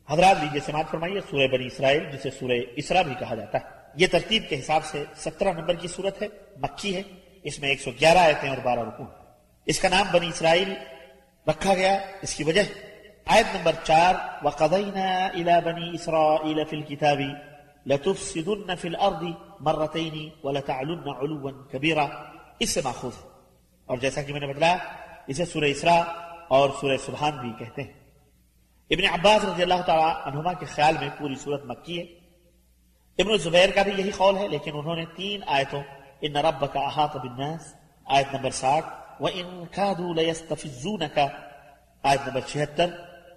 حضرات لیجیے سماعت فرمائیے سورہ بنی اسرائیل، جسے سورہ اسراء بھی کہا جاتا ہے، یہ ترتیب کے حساب سے 17 نمبر کی صورت ہے، مکی ہے، اس میں 111 آیتیں اور 12 رکوع۔ اس کا نام بنی اسرائیل رکھا گیا، اس کی وجہ آیت نمبر 4 وَقَضَيْنَا إِلَى بَنِي إِسْرَائِيلَ فِي الْكِتَابِ لَتُفْسِدُنَّ فِي الْأَرْضِ مَرَّتَيْنِ وَلَتَعْلُنَّ عُلُوًّا كَبِيرًا، اس سے ماخوذ ہے، اور جیسا کہ میں نے بتلایا اسے سورہ اسراء اور سورہ سبحان بھی کہتے ہیں۔ ابن عباس رضی اللہ تعالیٰ عنہما کے خیال میں پوری صورت مکی ہے۔ ابن زبیر کا بھی یہی قول ہے، لیکن انہوں نے 3 آیتوں ان ربک احاط بالناس آیت نمبر 60 وَإِن كَادُوا لَيَسْتَفِزُّونَكَ آیت نمبر 76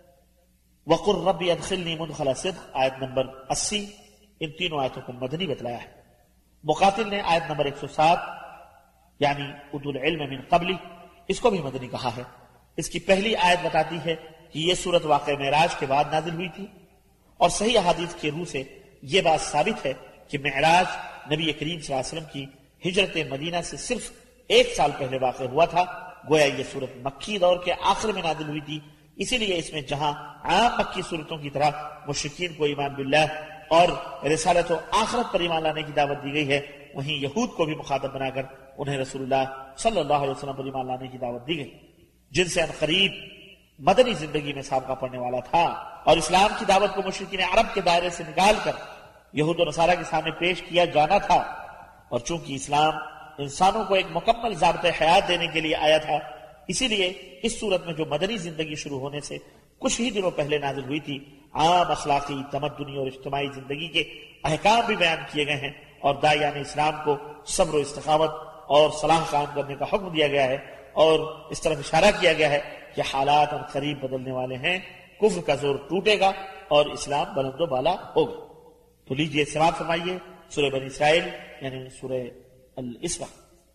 وَقُلْ رَبِّ أَدْخِلْنِي مُدْخَلَ صِدْقٍ آیت نمبر 80، ان تینوں آیتوں کو مدنی بتلایا ہے۔ مقاتل نے آیت نمبر 107 یعنی اُوتُوا الْعِلْمَ مِن قَبْلِ، اس کو بھی مدنی کہا ہے۔ اس کی پہلی آیت بتاتی ہے کہ یہ صورت واقع معراج کے بعد نازل ہوئی تھی، اور صحیح احادیث کے روح سے یہ بات ثابت ہے کہ معراج نبی کریم صلی اللہ علیہ وسلم کی ہجرت مدینہ سے صرف 1 سال پہلے واقع ہوا تھا، گویا یہ صورت مکی دور کے آخر میں نازل ہوئی تھی۔ اسی لیے اس میں جہاں عام مکی صورتوں کی طرح مشرکین کو ایمان باللہ اور رسالت و آخرت پر ایمان لانے کی دعوت دی گئی ہے، وہیں یہود کو بھی مخاطب بنا کر انہیں رسول اللہ صلی اللہ علیہ وسلم پر ایمان لانے کی دعوت دی گئی، جن سے عنقریب مدنی زندگی میں سابقہ پڑنے والا تھا، اور اسلام کی دعوت کو مشرکین عرب کے دائرے سے نکال کر یہود و نصارہ کے سامنے پیش کیا جانا تھا۔ اور چونکہ اسلام انسانوں کو ایک مکمل ضابطۂ حیات دینے کے لیے آیا تھا، اسی لیے اس صورت میں جو مدنی زندگی شروع ہونے سے کچھ ہی دنوں پہلے نازل ہوئی تھی، عام اخلاقی، تمدنی اور اجتماعی زندگی کے احکام بھی بیان کیے گئے ہیں، اور داعیان اسلام کو صبر و استقامت اور صلاح قائم کرنے کا حکم دیا گیا ہے، اور اس طرف اشارہ کیا گیا ہے کہ حالات اور قریب بدلنے والے ہیں، کفر کا زور ٹوٹے گا اور اسلام بلند و بالا ہوگا۔ تو لیجئے سماعت فرمائیے سورہ بنی اسرائیل یعنی سورہ الاسراء۔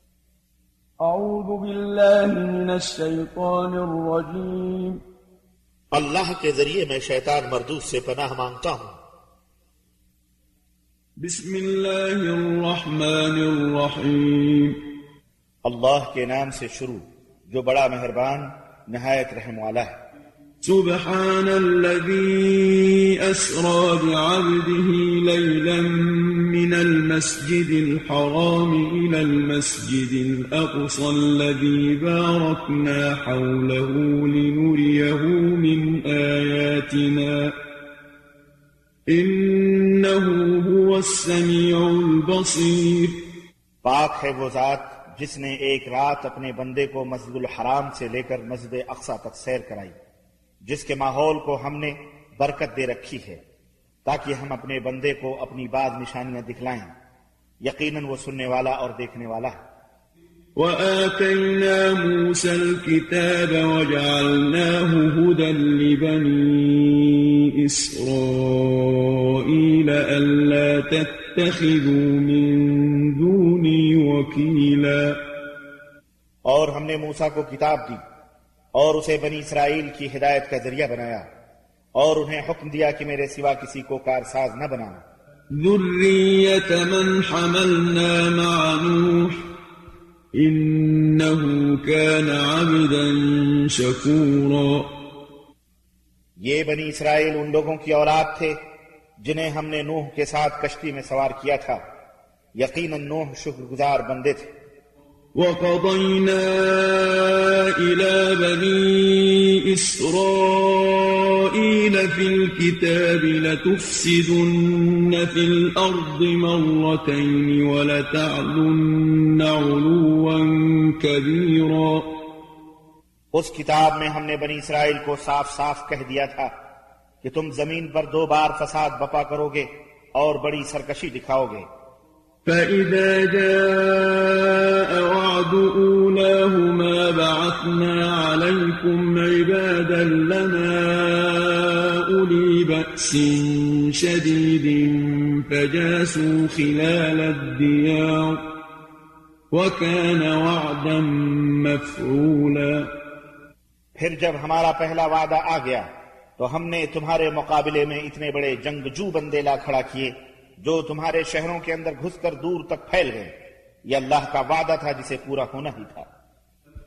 اعوذ باللہ من الشیطان الرجیم، اللہ کے ذریعے میں شیطان مردود سے پناہ مانگتا ہوں۔ بسم اللہ الرحمن الرحیم، اللہ کے نام سے شروع جو بڑا مہربان نہایت رحم والا ہے۔ سبحان الذي أسرى بعبده ليلا من المسجد الحرام إلى المسجد الأقصى الذي باركنا حوله لنريه من آياتنا إنه هو السميع البصير۔ پاک ہے وہ ذات جس نے ایک رات اپنے بندے کو مسجد الحرام سے لے کر مسجد اقصیٰ تک سیر کرائی، جس کے ماحول کو ہم نے برکت دے رکھی ہے تاکہ ہم اپنے بندے کو اپنی بعض نشانیاں دکھلائیں، یقیناً وہ سننے والا اور دیکھنے والا ہے۔ وآتينا موسى الكتاب وجعلناه هدى لبني إسرائيل ألا تتخذوا من دوني وكيلا، اور ہم نے موسیٰ کو کتاب دی اور اسے بنی اسرائیل کی ہدایت کا ذریعہ بنایا، اور انہیں حکم دیا کہ میرے سوا کسی کو کارساز نہ بنانا۔ ذرية من حملنا مع نوح إنه كان عبدا شكورا۔ یہ بنی اسرائیل ان لوگوں کی اولاد تھے جنہیں ہم نے نوح کے ساتھ کشتی میں سوار کیا تھا، یقیناً نوح شکر گزار بندے تھے۔ وَقَضَيْنَا إِلَى بَنِي إِسْرَائِيلَ فِي الْكِتَابِ لَتُفْسِدُنَّ فِي الْأَرْضِ مَرَّتَيْنِ وَلَتَعْلُنَّ عُلُوًّا كَبِيرًا۔ اس کتاب میں ہم نے بنی اسرائیل کو صاف صاف کہہ دیا تھا کہ تم زمین پر 2 بار فساد بپا کرو گے اور بڑی سرکشی دکھاؤ گے۔ فَإِذَا جَاءَ وَعْدُ أُولَاهُمَا بَعَثْنَا عَلَيْكُمْ عِبَادًا لَنَا أُولِي بَأْسٍ شَدِيدٍ فَجَاسُوا خِلَالَ الدِّيَارِ وَكَانَ وَعْدًا مَفْعُولًا۔ پھر جب ہمارا پہلا وعدہ آ گیا تو ہم نے تمہارے مقابلے میں اتنے بڑے جنگجو بندے لا کھڑا کیے جو تمہارے شہروں کے اندر گھس کر دور تک پھیل گئے۔ یہ اللہ کا وعدہ تھا جسے پورا ہونا ہی تھا۔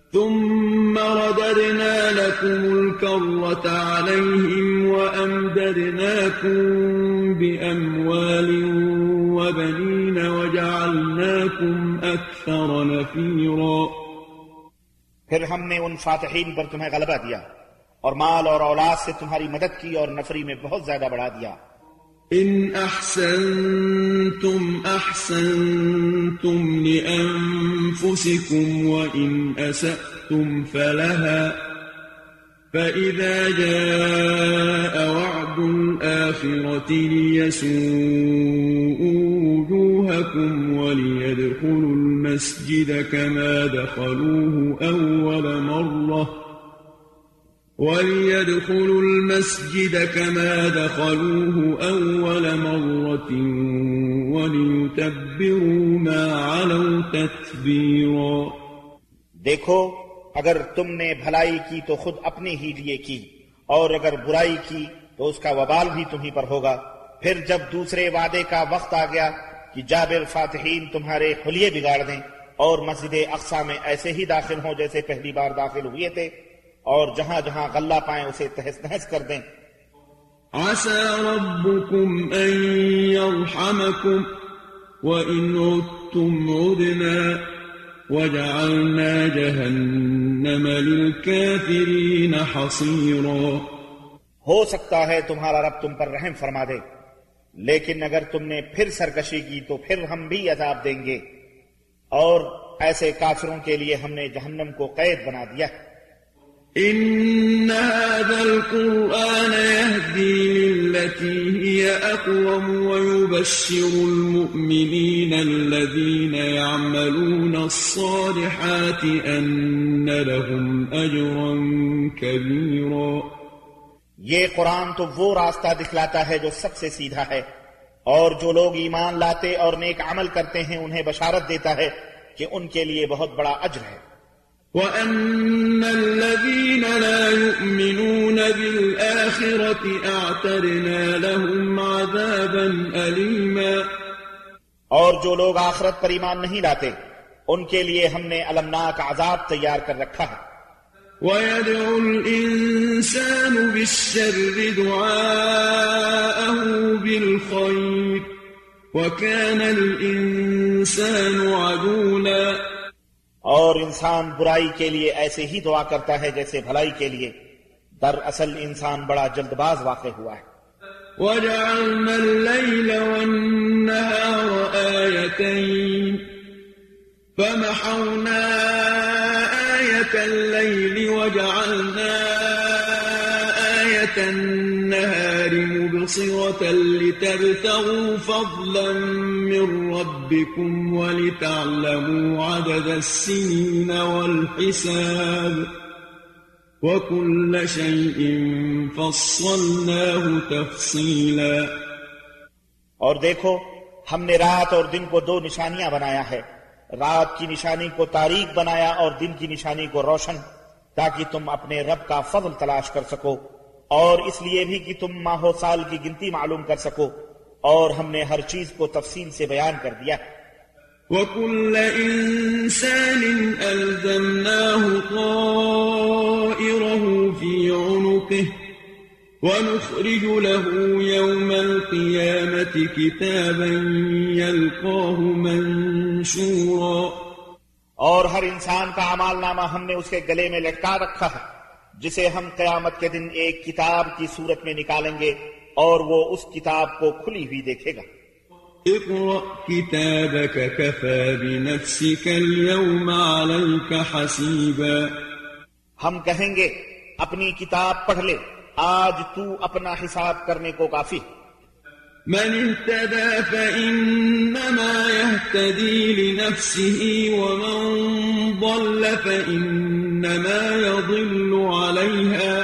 ثم رددنا لكم الكرة عليهم وأمددناكم بأموال وبنين وجعلناكم أكثر نفيرا. پھر ہم نے ان فاتحین پر تمہیں غلبہ دیا اور مال اور اولاد سے تمہاری مدد کی اور نفری میں بہت زیادہ بڑھا دیا. إن أحسنتم أحسنتم لأنفسكم وإن أسأتم فلها فإذا جاء وعد الآخرة ليسوءوا وجوهكم وليدخلوا المسجد كما دخلوه أول مرة وليتبروا ما علوا تتبيرا. دیکھو اگر تم نے بھلائی کی تو خود اپنے ہی لیے کی اور اگر برائی کی تو اس کا وبال بھی تمہیں پر ہوگا. پھر جب دوسرے وعدے کا وقت آ گیا کہ جابر فاتحین تمہارے حلیے بگاڑ دیں اور مسجد اقصی میں ایسے ہی داخل ہوں جیسے پہلی بار داخل ہوئے تھے اور جہاں جہاں غلہ پائیں اسے تہس نہس کر دیں. عسى ربكم أن يرحمكم وإن عدتم عدنا وجعلنا جهنم للكافرين حصيرا. ہو سکتا ہے تمہارا رب تم پر رحم فرما دے، لیکن اگر تم نے پھر سرکشی کی تو پھر ہم بھی عذاب دیں گے، اور ایسے کافروں کے لیے ہم نے جہنم کو قید بنا دیا. إن هذا القرآن يهدي للتي هي أقوم ويبشر المؤمنين الذين يعملون الصالحات أن لهم أجرا كبيرا. یہ قرآن تو وہ راستہ دکھلاتا ہے جو سب سے سیدھا ہے، اور جو لوگ ایمان لاتے اور نیک عمل کرتے ہیں انہیں بشارت دیتا ہے کہ ان کے لیے بہت بڑا اجر ہے. وَأَنَّ الَّذِينَ لَا يُؤْمِنُونَ بِالْآخِرَةِ أَعْتَدْنَا لَهُمْ عَذَابًا أَلِيمًا. اور جو لوگ آخرت پر ایمان نہیں لاتے ان کے لیے ہم نے المناک عذاب تیار کر رکھا ہے. وَيَدْعُ الْإِنسَانُ بِالشَّرِّ دُعَاءَهُ بِالْخَيْرِ وَكَانَ الْإِنسَانُ عَجُولًا. اور انسان برائی کے لیے ایسے ہی دعا کرتا ہے جیسے بھلائی کے لیے، دراصل انسان بڑا جلد باز واقع ہوا ہے. وَجَعَلْنَا اللَّيْلَ وَالنَّهَارَ آيَتَيْنِ فَمَحَوْنَا آيَةَ اللَّيْلِ وَجَعَلْنَا آيَةَ النَّهَارِ مُبْصِرَةً لِتَبْتَغُوا فَضْلًا مِّن رَّبِّكُمْ وَلِتَعْلَمُوا عَدَدَ السِّنِينَ وَالْحِسَابَ وَكُلَّ شَيْءٍ فَصَّلْنَاهُ تَفْصِيلًا. اور دیکھو ہم نے رات اور دن کو دو نشانیاں بنایا ہے، رات کی نشانی کو تاریک بنایا اور دن کی نشانی کو روشن، تاکہ تم اپنے رب کا فضل تلاش کر سکو، اور اس لیے بھی کہ تم ماہ و سال کی گنتی معلوم کر سکو، اور ہم نے ہر چیز کو تفصیل سے بیان کر دیا. وَكُلَّ إِنسَانٍ أَلْزَمْنَاهُ طَائِرَهُ فِي عُنُقِهِ وَنُخْرِجُ لَهُ يَوْمَ الْقِيَامَةِ كِتَابًا يَلْقَاهُ مَنشُورًا. اور ہر انسان کا اعمال نامہ ہم نے اس کے گلے میں لٹکا رکھا ہے، جسے ہم قیامت کے دن ایک کتاب کی صورت میں نکالیں گے اور وہ اس کتاب کو کھلی ہوئی دیکھے گا. اقرأ كتابك كفى بنفسك اليوم عليك حسيبا. ہم کہیں گے اپنی کتاب پڑھ لے، آج تو اپنا حساب کرنے کو کافی. من اهتدى فإنما يهتدي لنفسه ومن ضل فإنما يضل عليها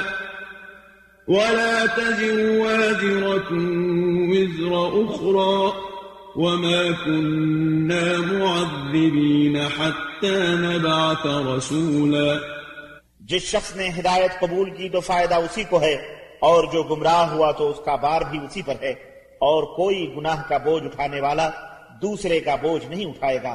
ولا تزر وازرة وزر أخرى وما كنا معذبين حتى نبعث رسولا. جس شخص نے ہدایت قبول کی تو فائدہ اسی کو ہے، اور جو گمراہ ہوا تو اس کا بار بھی اسی پر ہے، اور کوئی گناہ کا بوجھ اٹھانے والا دوسرے کا بوجھ نہیں اٹھائے گا،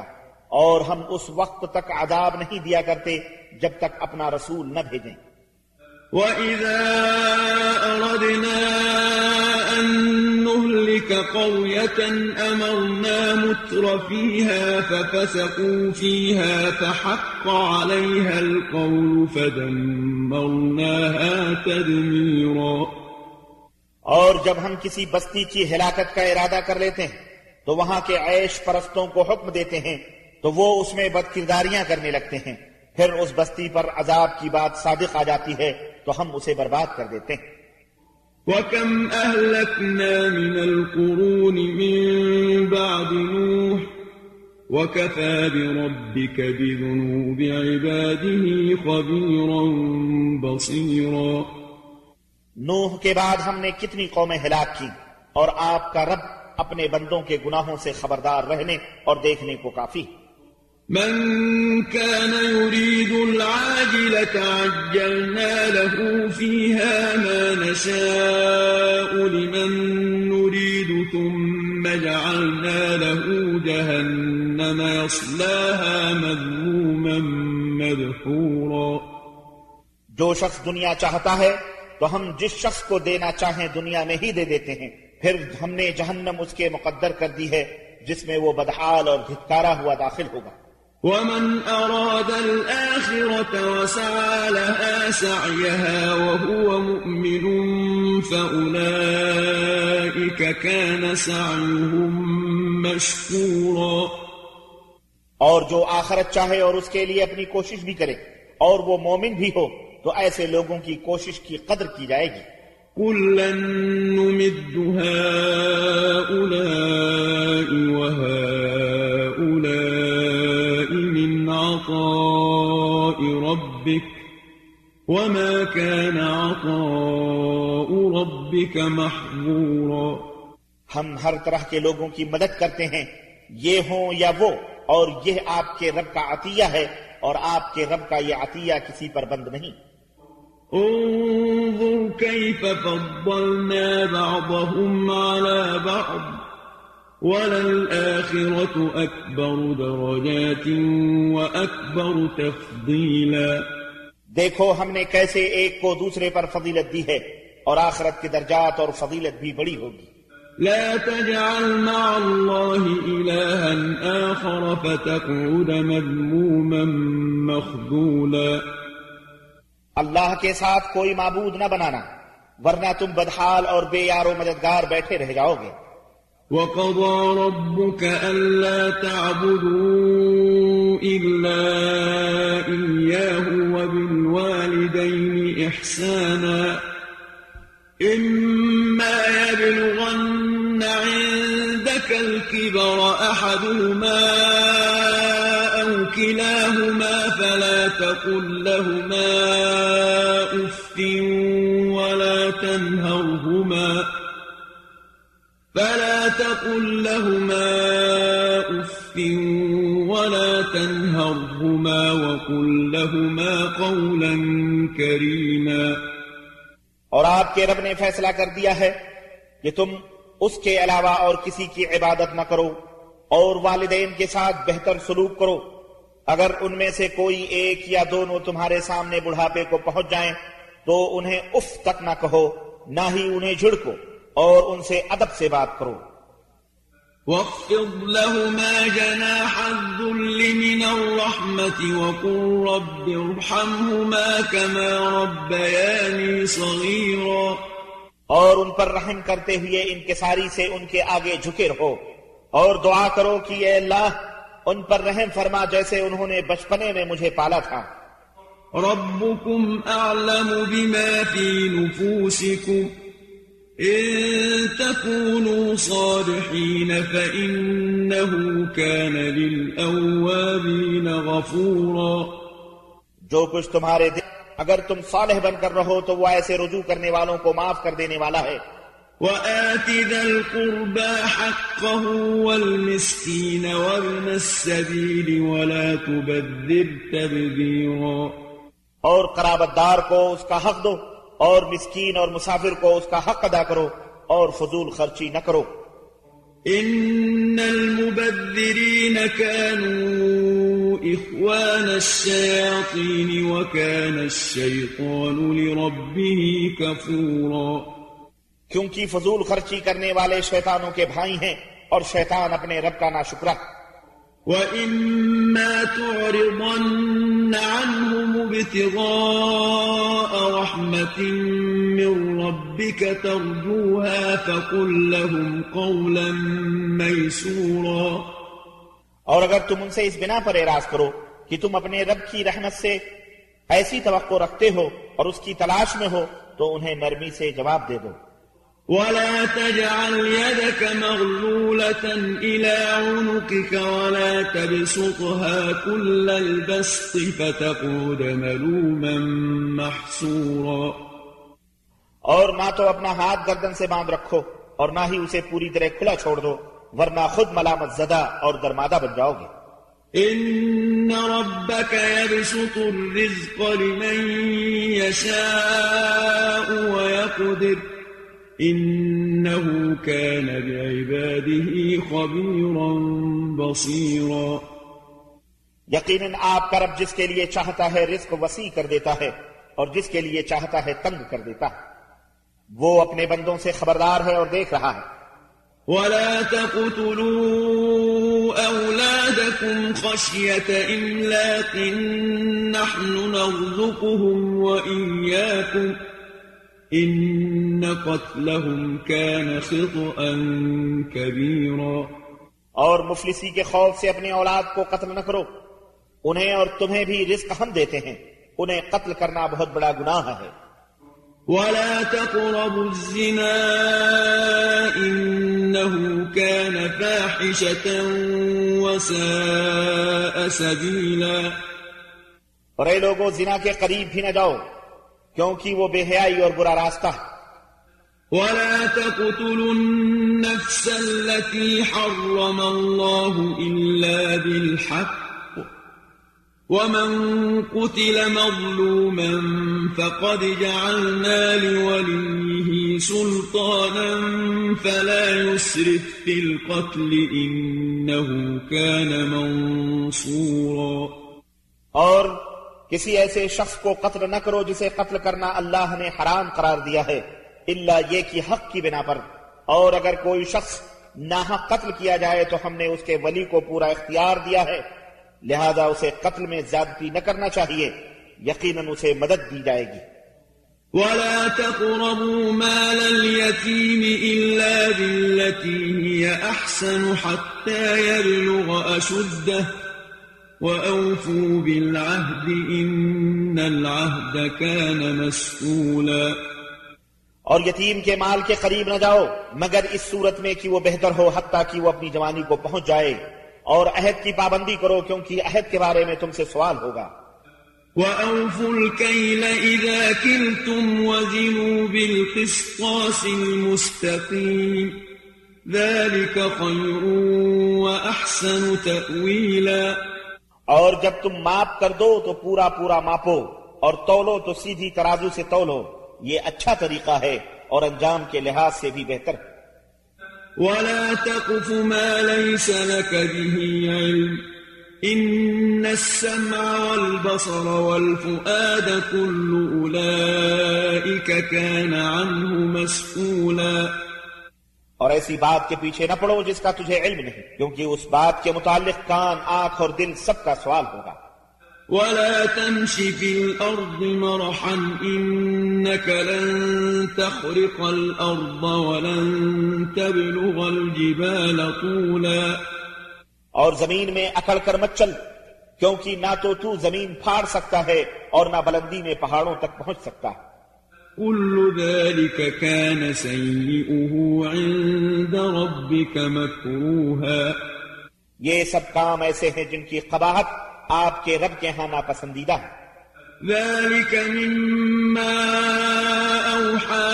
اور ہم اس وقت تک عذاب نہیں دیا کرتے جب تک اپنا رسول نہ بھیجیں۔ وَإِذَا أَرَدْنَا أَن نُّهْلِكَ قَرْيَةً أَمَرْنَا مُتْرَ فِيهَا فَفَسَقُوا فِيهَا فَحَقَّ عَلَيْهَا الْقَوْلُ فَدَمَّرْنَاهَا تَدْمِيرًا۔ اور جب ہم کسی بستی کی ہلاکت کا ارادہ کر لیتے ہیں تو وہاں کے عیش پرستوں کو حکم دیتے ہیں تو وہ اس میں بدکرداریاں کرنے لگتے ہیں، پھر اس بستی پر عذاب کی بات صادق آ جاتی ہے تو ہم اسے برباد کر دیتے ہیں۔ وَكَمْ أَهْلَكْنَا مِنَ الْقُرُونِ مِنْ بَعْدِ نُوحٍ وَكَفَى بِرَبِّكَ بِذُنُوبِ عِبَادِهِ خَبِيرًا بَصِيرًا۔ نوح کے بعد ہم نے کتنی قومیں ہلاک کی، اور آپ کا رب اپنے بندوں کے گناہوں سے خبردار رہنے اور دیکھنے کو کافی۔ من كان يريد العاجلة عجلنا له فيها ما نشاء لمن نريد ثم جعلنا له جهنم يصلاها مذموما مدحورا۔ جو شخص دنیا چاہتا ہے تو ہم جس شخص کو دینا چاہیں دنیا میں ہی دے دیتے ہیں، پھر ہم نے جہنم اس کے مقدر کر دی ہے جس میں وہ بدحال اور دھتکارا ہوا داخل ہوگا۔ ومن أراد الآخرة وسعى لها سعيها وهو مؤمن فأولئك كان سعيهم مشكورا۔ اور جو آخرت چاہے اور اس کے لیے اپنی کوشش بھی کرے اور وہ مومن بھی ہو تو ایسے لوگوں کی کوشش کی قدر کی جائے گی۔ كُلًّا نُّمِدُّ هَٰؤُلَاءِ وَهَٰؤُلَاءِ مِنْ عَطَاءِ رَبِّكَ وَمَا كَانَ عَطَاءُ رَبِّكَ مَحْظُورًا۔ ہم ہر طرح کے لوگوں کی مدد کرتے ہیں، یہ ہوں یا وہ، اور یہ آپ کے رب کا عطیہ ہے، اور آپ کے رب کا یہ عطیہ کسی پر بند نہیں۔ انظر كيف فضلنا بعضهم على بعض وللآخرة أكبر درجات وأكبر تفضيلا۔ دیکھو ہم نے کیسے ایک کو دوسرے پر فضیلت دی ہے، اور آخرت کے درجات اور فضیلت بھی بڑی ہوگی۔ لا تجعل مع الله إلها آخر فتقعد مذموما مخذولا۔ اللہ کے ساتھ کوئی معبود نہ بنانا، ورنہ تم بدحال اور بے یار و مددگار بیٹھے رہ جاؤ گے۔ وَقَضَى رَبُّكَ أَلَّا تَعْبُدُوا إِلَّا إِيَّاهُ وَبِالْوَالِدَيْنِ إِحْسَانًا إِمَّا يَبْلُغَنَّ عِندَكَ الْكِبَرَ أَحَدُهُمَا أَوْ كِلَاهُمَا فَلَا تَقُل لَّهُمَا أُفٍّ وَلَا تَنْهَرْهُمَا وَقُل لَّهُمَا قَوْلًا كَرِيمًا۔ اور آپ کے رب نے فیصلہ کر دیا ہے کہ تم اس کے علاوہ اور کسی کی عبادت نہ کرو، اور والدین کے ساتھ بہتر سلوک کرو۔ اگر ان میں سے کوئی ایک یا دونوں تمہارے سامنے بڑھاپے کو پہنچ جائیں تو انہیں اف تک نہ کہو، نہ ہی انہیں جھڑکو، اور ان سے ادب سے بات کرو۔ وَاخْفِضْ لَهُمَا جَنَاحَ الذُّلِّ مِنَ الرَّحْمَةِ وَقُل رَّبِّ ارْحَمْهُمَا كَمَا رَبَّيَانِي صَغِيرًا۔ اور ان پر رحم کرتے ہوئے انکساری سے ان کے آگے جھکے رہو، اور دعا کرو کہ اے اللہ ان پر رحم فرما جیسے انہوں نے بچپنے میں مجھے پالا تھا۔ رَبُّكُمْ أَعْلَمُ بِمَا فِي نُفُوسِكُمْ إِن تَكُونُوا صَالِحِينَ فَإِنَّهُ كَانَ لِلْأَوَّابِينَ غَفُورًا۔ جو کچھ تمہارے دل، اگر تم صالح بن کر رہو تو وہ ایسے رجوع کرنے والوں کو معاف کر دینے والا ہے۔ وَآتِ ذَا الْقُرْبَى حَقَّهُ وَالْمِسْكِينَ وَابْنَ السَّبِيلِ وَلَا تُبَذِّرْ تَبْذِيرًا۔ اور قرابت دار کو اس کا حق دو، اور مسکین اور مسافر کو اس کا حق ادا کرو، اور فضول خرچی نہ کرو۔ إن المبذرين كانوا إخوان الشياطين وكان الشيطان لربه كفورا کیونکہ فضول خرچی کرنے والے شیطانوں کے بھائی ہیں اور شیطان اپنے رب کا ناشکرا. وَإِمَّا تُعْرِضَنَّ عَنْهُمُ ابْتِغَاءَ رَحْمَةٍ مِّن رَّبِّكَ تَرْجُوهَا فَقُل لَّهُمْ قَوْلًا مَّيْسُورًا. اور اگر تم ان سے اس بنا پر اعراض کرو کہ تم اپنے رب کی رحمت سے ایسی توقع رکھتے ہو اور اس کی تلاش میں ہو تو انہیں نرمی سے جواب دے دو. ولا تجعل يدك مغلولة إلى عنقك ولا تبسطها كل البسط فتقعد ملوما محسورا. اور نہ تو اپنا ہاتھ گردن سے باندھ رکھو اور نہ ہی اسے پوری طرح کھلا چھوڑ دو ورنہ خود ملامت زدہ اور درمادہ بن جاؤ گے. إن ربك يبسط الرزق لمن يشاء ويقدر إنه كان بعباده خبيرا بصيرا. یقیناً آپ کا رب جس کے لیے چاہتا ہے رزق وسیع کر دیتا ہے اور جس کے لیے چاہتا ہے تنگ کر دیتا ہے. وہ اپنے بندوں سے خبردار ہے اور دیکھ رہا ہے. ولا تقتلوا أولادكم خشية إملاق نحن نرزقهم وإياكم إن قتلهم كان خطأ كبيرا. اور مفلسی کے خوف سے اپنے اولاد کو قتل نہ کرو. انہیں اور تمہیں بھی رزق ہم دیتے ہیں. انہیں قتل کرنا بہت بڑا گناہ ہے. ولا تقربوا الزنا إنه كان فاحشة وساء سبيلا. اور اے لوگو زنا کے قریب بھی نہ جاؤ کیونکہ وہ بے حیائی اور برا راستہ ہے. ولا تقتلوا النفس التي حرم الله إلا بالحق ومن قتل مظلوما فقد جعلنا لوليه سلطانا فلا يسرف في القتل إنه كان منصورا. اور کسی ایسے شخص کو قتل نہ کرو جسے قتل کرنا اللہ نے حرام قرار دیا ہے الا یہ کہ حق کی بنا پر. اور اگر کوئی شخص ناحق قتل کیا جائے تو ہم نے اس کے ولی کو پورا اختیار دیا ہے لہذا اسے قتل میں زیادتی نہ کرنا چاہیے. یقیناً اسے مدد دی جائے گی. ولا تقربوا مال اليتيم إلا بالتي هي أحسن حتى يبلغ أشده وأوفوا بالعهد إن العهد كان مسؤولا. اور یتیم کے مال کے قریب نہ جاؤ مگر اس صورت میں کہ وہ بہتر ہو حتیٰ کہ وہ اپنی جوانی کو پہنچ جائے. اور عہد کی پابندی کرو کیونکہ عہد کے بارے میں تم سے سوال ہوگا. وَأَوْفُوا الْكَيْلَ إِذَا كِلْتُمْ وَزِنُوا بِالْقِسْطَاسِ الْمُسْتَقِيمِ ذَلِكَ خَيْرٌ وَأَحْسَنُ تَأْوِيلًا. اور جب تم ماپ کر دو تو پورا پورا ماپو اور تولو تو سیدھی ترازو سے تولو. یہ اچھا طریقہ ہے اور انجام کے لحاظ سے بھی بہتر. ولا تقف ما ليس لك به علم إن السمع والبصر والفؤاد كل أولئك كان عنه مسؤولا. اور ایسی بات کے پیچھے نہ پڑو جس کا تجھے علم نہیں کیونکہ اس بات کے متعلق کان آنکھ اور دل سب کا سوال ہوگا. ولا تمش في الأرض مرحا إنك لن تخرق الأرض ولن تبلغ الجبال طولا. اور زمین میں اکڑ کر مت چل کیونکہ نہ تو زمین پھاڑ سکتا ہے اور نہ بلندی میں پہاڑوں تک پہنچ سکتا ہے. كل ذلك كان سيئه عند ربك مكروها. یہ سب کام ایسے ہیں جن کی قباحت آپ کے رب کے ہاں ناپسندیدہ ہے. ذلك مما أوحى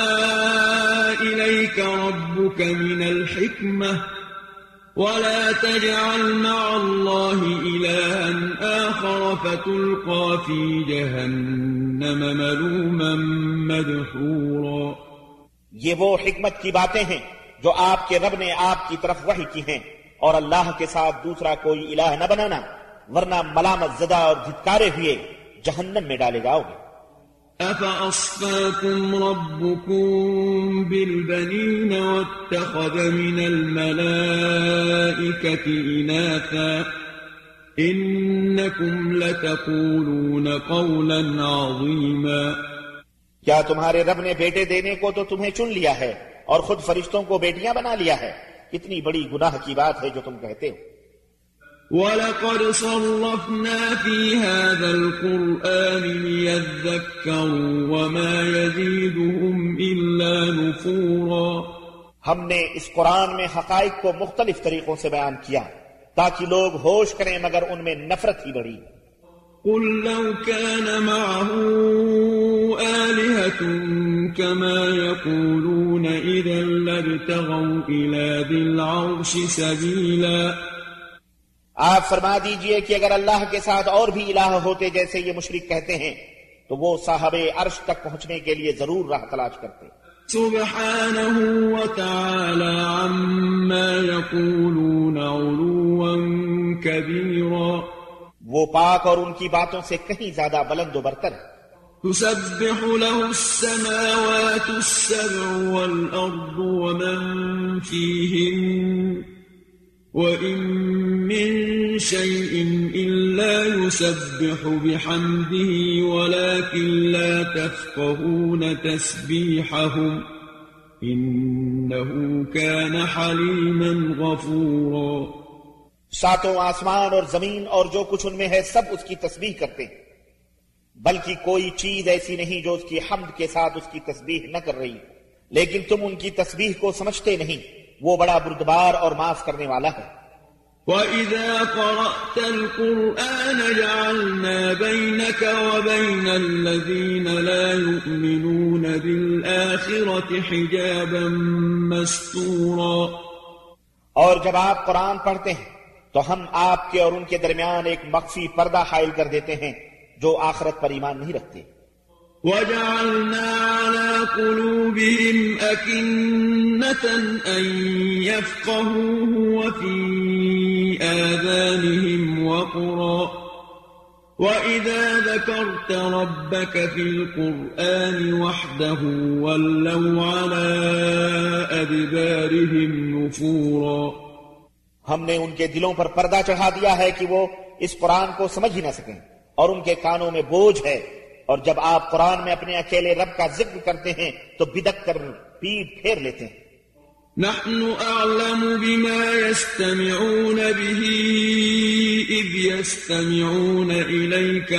إليك ربك من الحكمة ولا تجعل مع الله إلها آخر فتلقى في جهنم ملوما مدحورا. یہ وہ حکمت کی باتیں ہیں جو آپ کے رب نے آپ کی طرف وحی کی ہیں، اور اللہ کے ساتھ دوسرا کوئی الہ نہ بنانا، ورنہ ملامت زدہ اور دھتکارے ہوئے جہنم میں ڈالے جاؤ گے۔ أَفَأَصْفَاكُمْ رَبُّكُمْ بِالْبَنِينَ وَاتَّخَذَ مِنَ الْمَلَائِكَةِ إِنَاثًا إِنَّكُمْ لَتَقُولُونَ قَوْلًا عَظِيمًا۔ کیا تمہارے رب نے بیٹے دینے کو تو تمہیں چن لیا ہے اور خود فرشتوں کو بیٹیاں بنا لیا ہے؟ کتنی بڑی گناہ کی بات ہے جو تم کہتے ہو۔ وَلَقَدْ صَرَّفْنَا فِي هَذَا الْقُرْآنِ لِيَذَّكَّرُوا وَمَا يَزِيدُهُمْ إِلَّا نُفُورًا۔ ہم نے اس قرآن میں حقائق کو مختلف طریقوں سے بیان کیا تاکہ لوگ ہوش کریں، مگر ان میں نفرت ہی بڑھی۔ قُلْ لَوْ كَانَ مَعَهُ آلِهَةٌ كَمَا يَقُولُونَ إِذًا لَابْتَغَوْا إِلَى ذِي الْعَرْشِ سَبِيلًا۔ آپ فرما دیجئے کہ اگر اللہ کے ساتھ اور بھی الہ ہوتے جیسے یہ مشرک کہتے ہیں تو وہ صاحب عرش تک پہنچنے کے لیے ضرور راہ تلاش کرتے۔ سبحانہ وتعالی عما یقولون علوا کبیرا۔ وہ پاک اور ان کی باتوں سے کہیں زیادہ بلند و برتر ہے۔ تسبح له السماوات السبع والأرض ومن فيهن وإن من شيء إلا يسبح بحمده ولكن لا تفقهون تسبيحهم إنه كان حليما غفورا۔ ساتوں آسمان اور زمین اور جو کچھ ان میں ہے سب اس کی تسبیح کرتے ہیں، بلکہ کوئی چیز ایسی نہیں جو اس کی حمد کے ساتھ اس کی تسبیح نہ کر رہی، لیکن تم ان کی تسبیح کو سمجھتے نہیں، وہ بڑا بردبار اور معاف کرنے والا ہے۔ وَإِذَا قَرَأْتَ الْقُرْآنَ جَعَلْنَا بَيْنَكَ وَبَيْنَ الَّذِينَ لَا يُؤْمِنُونَ بِالْآخِرَةِ حِجَابًا مَسْتُورًا۔ اور جب آپ قرآن پڑھتے ہیں تو ہم آپ کے اور ان کے درمیان ایک مخفی پردہ حائل کر دیتے ہیں جو آخرت پر ایمان نہیں رکھتے۔ وَجَعَلْنَا عَلَى قُلُوبِهِمْ أَكِنَّةً أَن يَفْقَهُوهُ وَفِي آذَانِهِمْ وَقْرًا وَإِذَا ذَكَرْتَ رَبَّكَ فِي الْقُرْآنِ وَحْدَهُ وَلَّوْا عَلَى أَدْبَارِهِمْ نُفُورًا۔ ہم نے ان کے دلوں پر پردہ چڑھا دیا ہے کہ وہ اس قرآن کو سمجھ ہی نہ سکیں، اور ان کے کانوں میں بوجھ ہے، اور جب آپ قرآن میں اپنے اکیلے رب کا ذکر کرتے ہیں تو بدک کر پیٹ پھیر لیتے ہیں۔ نحن أعلم بما يستمعون به إذ يستمعون إليك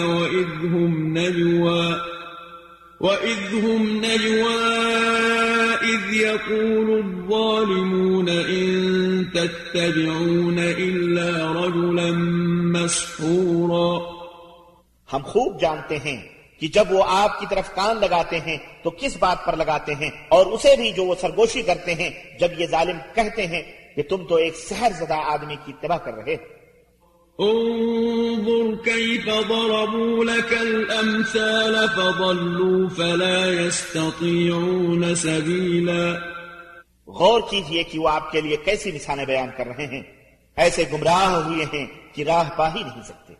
وإذ هم نجوى إذ يقول الظالمون إن تتبعون إلا رجلا مسحورا۔ ہم خوب جانتے ہیں کہ جب وہ آپ کی طرف کان لگاتے ہیں تو کس بات پر لگاتے ہیں، اور اسے بھی جو وہ سرگوشی کرتے ہیں جب یہ ظالم کہتے ہیں کہ تم تو ایک سحر زدہ آدمی کی اتباع کر رہے ہو۔ انظر كيف ضربوا لك الأمثال فضلوا فلا يستطيعون سبيلا۔ غور کیجئے کہ وہ آپ کے لیے کیسی مثالیں بیان کر رہے ہیں، ایسے گمراہ ہوئے ہیں کہ راہ پا ہی نہیں سکتے۔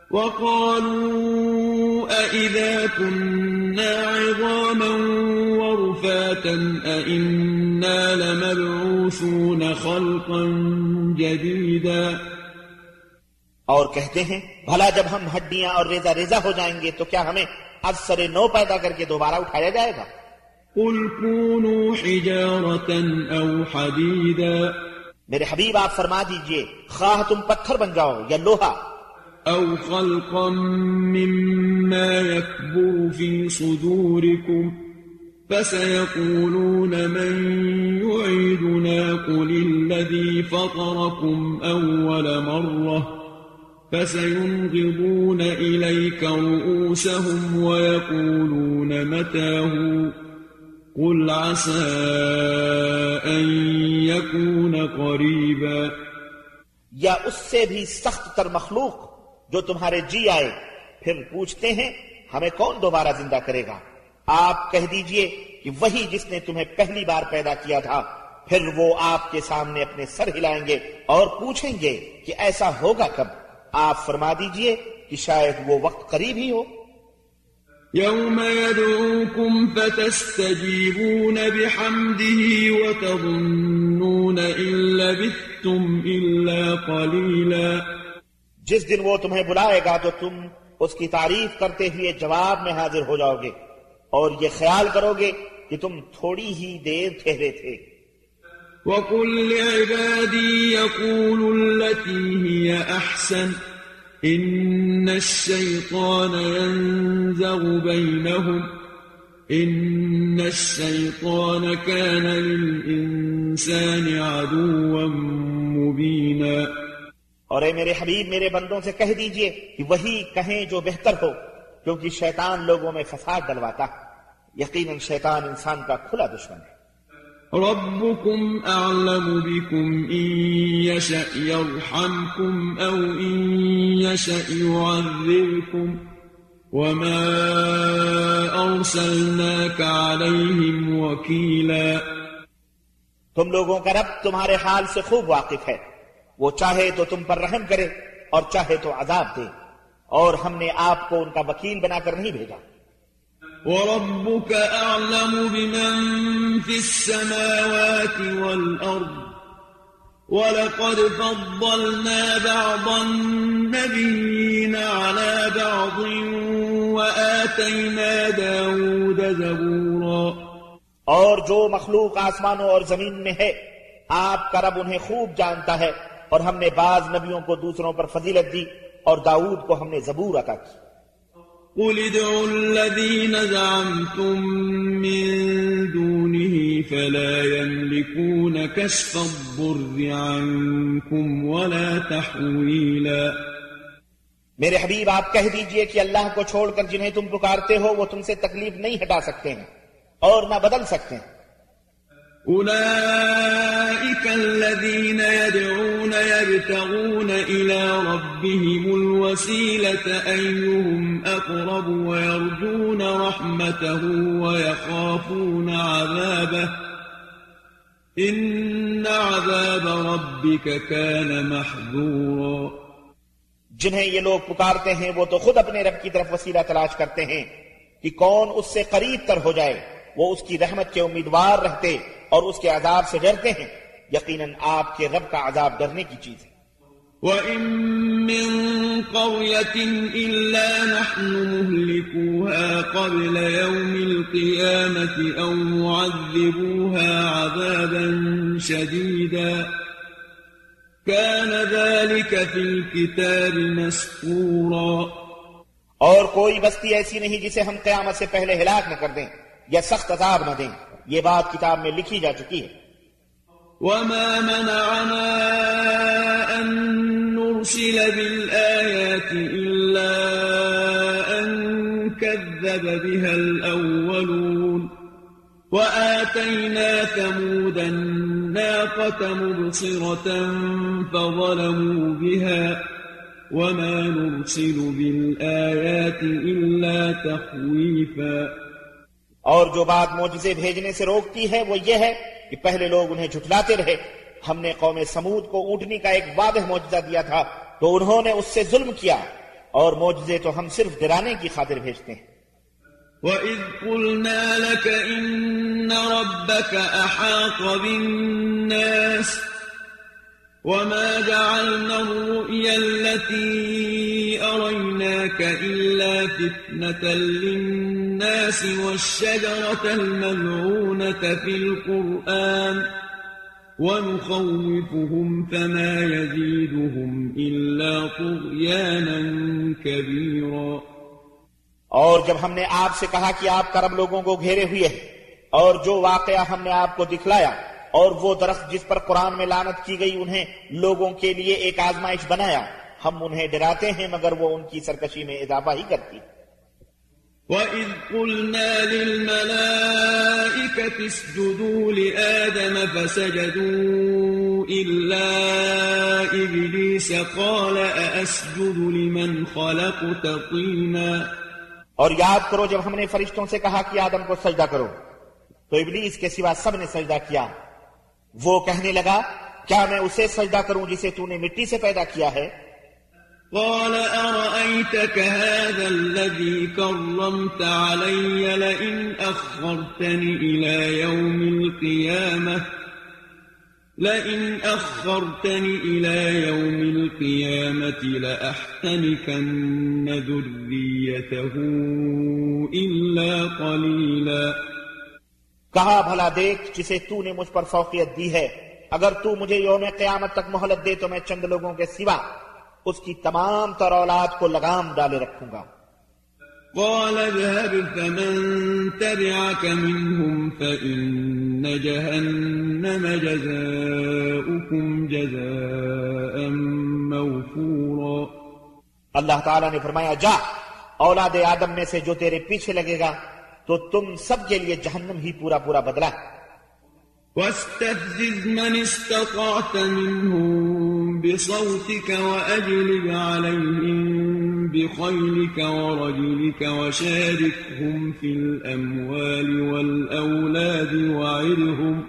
وقالوا أئذا كنا عظاما ورفاتا أئنا لمبعوثون خلقا جديدا۔ اور کہتے ہیں بھلا جب ہم ہڈیاں اور ریزہ ریزہ ہو جائیں گے تو کیا ہمیں از سر نو پیدا کر کے دوبارہ اٹھایا جائے گا؟ قل كونوا حجارة أو حديدا۔ میرے حبیب آپ فرما دیجئے خواہ تم پتھر بن جاؤ یا لوہا، أو خلقا مما يكبر في صدوركم فسيقولون من يعيدنا قل الذي فطركم أول مرة فسينغضون إليك رؤوسهم ويقولون متاه قل عسى أن يكون قريبا۔ یا اس سے بھی سخت تر مخلوق جو تمہارے جی آئے، پھر پوچھتے ہیں ہمیں کون دوبارہ زندہ کرے گا؟ آپ کہہ دیجئے کہ وہی جس نے تمہیں پہلی بار پیدا کیا تھا پھر وہ آپ کے سامنے اپنے سر ہلائیں گے اور پوچھیں گے کہ ایسا ہوگا کب؟ آپ فرما دیجئے کہ شاید وہ وقت قریب ہی ہو۔ يوم يدعوكم فتستجيبون بحمده وتظنون إن لبثتم إلا قليلا۔ جس دن وہ تمہیں بلائے گا تو تم اس کی تعریف کرتے ہوئے جواب میں حاضر ہو جاؤ گے اور یہ خیال کرو گے کہ تم تھوڑی ہی دیر ٹھہرے تھے۔ وَقُل لِّعِبَادِي يَقُولُوا الَّتِي هِيَ أَحْسَنُ إِنَّ الشَّيْطَانَ يَنزَغُ بَيْنَهُمْ إِنَّ الشَّيْطَانَ كَانَ لِلْإِنسَانِ عَدُوًّا مُّبِينًا۔ اور اے میرے حبیب میرے بندوں سے کہہ دیجئے کہ وہی کہیں جو بہتر ہو، کیونکہ شیطان لوگوں میں فساد ڈلواتا ہے۔ یقیناً شیطان انسان کا کھلا دشمن ہے۔ ربكم أعلم بكم إن يشأ يرحمكم أو إن يشأ يعذبكم وما أرسلناك عليهم وكيلا۔ تم لوگوں کا رب تمہارے حال سے خوب واقف ہے، وہ چاہے تو تم پر رحم کرے اور چاہے تو عذاب دے، اور ہم نے آپ کو ان کا وکیل بنا کر نہیں بھیجا۔ وَرَبُّكَ أَعْلَمُ بِمَن فِي السَّمَاوَاتِ وَالْأَرْضِ وَلَقَدْ فَضَّلْنَا بَعْضَ النَّبِيِّينَ عَلَى بَعْضٍ وَآتَيْنَا دَاوُودَ زَبُورًا۔ اور جو مخلوق آسمانوں اور زمین میں ہے آپ کا رب انہیں خوب جانتا ہے، اور ہم نے بعض نبیوں کو دوسروں پر فضیلت دی اور داؤد کو ہم نے زبور عطا کی۔ قُلِ ادْعُوا الَّذِينَ زَعَمْتُم مِّن دُونِهِ فَلَا يَمْلِكُونَ كَشْفَ الضُّرِّ عَنكُمْ وَلَا تَحْوِيلًا۔ میرے حبیب آپ کہہ دیجئے کہ اللہ کو چھوڑ کر جنہیں تم پکارتے ہو وہ تم سے تکلیف نہیں ہٹا سکتے ہیں اور نہ بدل سکتے ہیں۔ أولئك الذين يدعون يبتغون إلى ربهم الوسيلة أيهم أقرب ويرجون رحمته ويخافون عذابه إن عذاب ربك كان محذورا۔ جنہیں یہ لوگ پکارتے ہیں وہ تو خود اپنے رب کی طرف وسیلہ تلاش کرتے ہیں کہ کون اس سے قریب تر ہو جائے، وہ اس کی رحمت کے امیدوار رہتے اور اس کے عذاب سے ڈرتے ہیں۔ یقیناً آپ کے رب کا عذاب ڈرنے کی چیز ہے۔ وَإِن مِّن قَرْيَةٍ إِلَّا نَحْنُ مُهْلِكُوهَا قَبْلَ يَوْمِ الْقِيَامَةِ أَوْ مُعَذِّبُوهَا عَذَابًا شَدِيدًا كَانَ ذَلِكَ فِي الْكِتَابِ مَسْطُورًا۔ اور کوئی بستی ایسی نہیں جسے ہم قیامت سے پہلے ہلاک نہ کر دیں یا سخت عذاب نہ دیں، یہ بات کتاب میں لکھی جا چکی ہے۔ وَمَا مَنَعَنَا أَن نُّرْسِلَ بِالْآيَاتِ إِلَّا أَن كَذَّبَ بِهَا الْأَوَّلُونَ وَآتَيْنَا ثَمُودَ النَّاقَةَ مُبْصِرَةً فَظَلَمُوا بِهَا وَمَا نُرْسِلُ بِالْآيَاتِ إِلَّا تَخْوِيفًا۔ اور جو بات معجزے بھیجنے سے روکتی ہے وہ یہ ہے کہ پہلے لوگ انہیں جھٹلاتے رہے۔ ہم نے قوم سمود کو اونٹنی کا ایک واضح معجزہ دیا تھا تو انہوں نے اس سے ظلم کیا، اور معجزے تو ہم صرف ڈرانے کی خاطر بھیجتے ہیں۔ وَإِذْ قُلْنَا لَكَ إِنَّ رَبَّكَ أَحَاطَ بِالنَّاسِ وَمَا جَعَلْنَا الرُّؤْيَا الَّتِي أَرَيْنَاكَ إِلَّا فِتْنَةً لِلنَّاسِ وَالشَّجَرَةَ الْمَلْعُونَةَ فِي الْقُرْآنِ وَنُخَوِّفُهُمْ فَمَا يَزِيدُهُمْ إِلَّا طُغْيَانًا كَبِيرًا۔ اور جب ہم نے آپ سے کہا کہ آپ کا رب لوگوں کو گھیرے ہوئے ہے، اور جو واقعہ ہم نے آپ کو دکھلایا اور وہ درخت جس پر قرآن میں لعنت کی گئی انہیں لوگوں کے لیے ایک آزمائش بنایا، ہم انہیں ڈراتے ہیں مگر وہ ان کی سرکشی میں اضافہ ہی کرتی۔ وَإِذْ قُلْنَا لِلْمَلَائِكَةِ اسْجُدُوا لِآدَمَ فَسَجَدُوا إِلَّا إِبْلِيسَ قَالَ أَأَسْجُدُ لِمَنْ خَلَقْتَ طِينًا۔ اور یاد کرو جب ہم نے فرشتوں سے کہا کہ آدم کو سجدہ کرو تو ابلیس کے سوا سب نے سجدہ کیا، وہ کہنے لگا کیا میں اسے سجدہ کروں جسے تو نے مٹی سے پیدا کیا ہے؟ قال أرأيتك هذا الذي كرمت علي لئن أخرتني إلى يوم القيامة لأحتنكن ذريته إلا قليلا. کہا بھلا دیکھ جسے تو نے مجھ پر فوقیت دی ہے، اگر تو مجھے یوم قیامت تک مہلت دے تو میں چند لوگوں کے سوا اس کی تمام تر اولاد کو لگام ڈالے رکھوں گا. قال اذهب فمن تبعك منهم فإن جهنم جزاؤكم جزاء موفورا. اللہ تعالیٰ نے فرمایا جا، اولاد آدم میں سے جو تیرے پیچھے لگے گا تو تم سب کے لیے جہنم ہی پورا پورا بدلہ. واستفزز من استطعت منهم بصوتك وأجلب عليهم بخيلك ورجلك وشاركهم في الأموال والأولاد وعدهم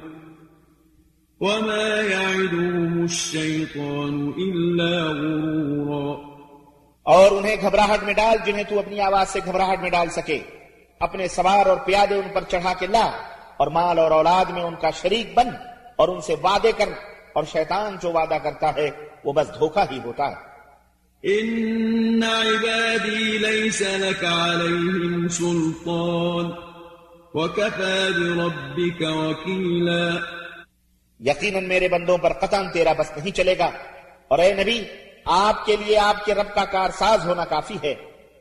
وما يعدهم الشيطان إلا غرورا. اور انہیں گھبراہٹ میں ڈال جنہیں تو اپنی آواز سے گھبراہٹ میں ڈال سکے. اپنے سوار اور پیادے ان پر چڑھا کے لا اور مال اور اولاد میں ان کا شریک بن اور ان سے وعدے کر، اور شیطان جو وعدہ کرتا ہے وہ بس دھوکہ ہی ہوتا ہے. ان عبادی لیس لک علیہم سلطان وکفى بربک وکیلا. یقیناً میرے بندوں پر قطعاً تیرا بس نہیں چلے گا، اور اے نبی آپ کے لیے آپ کے رب کا کارساز ہونا کافی ہے.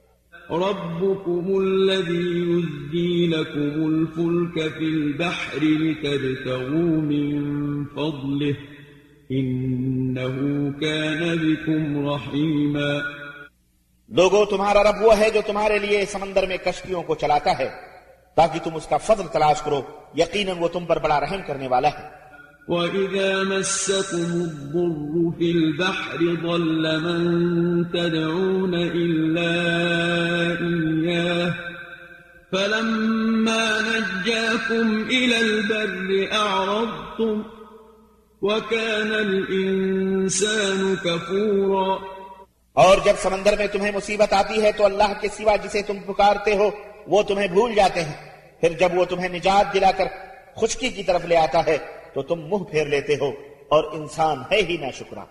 ربكم الذي يزجي لكم الفلك في البحر لتبتغوا من فضله إنه كان بكم رحيما. لوگو تمہارا رب وہ ہے جو تمہارے لیے سمندر میں کشتیوں کو چلاتا ہے تاکہ تم اس کا فضل تلاش کرو، یقیناً وہ تم پر بڑا رحم کرنے والا ہے. وَإِذَا مَسَّكُمُ الضُّرُّ فِي الْبَحْرِ ضَلَّ مَن تَدْعُونَ إِلَّا إِيَّاهُ فَلَمَّا نَجَّاكُمْ إِلَى الْبَرِّ أَعْرَضْتُمْ وَكَانَ الْإِنسَانُ كَفُورًا. اور جب سمندر میں تمہیں مصیبت آتی ہے تو اللہ کے سوا جسے تم پکارتے ہو وہ تمہیں بھول جاتے ہیں، پھر جب وہ تمہیں نجات دلا کر خشکی کی طرف لے آتا ہے تو تم منہ پھیر لیتے ہو، اور انسان ہے ہی ناشکرا.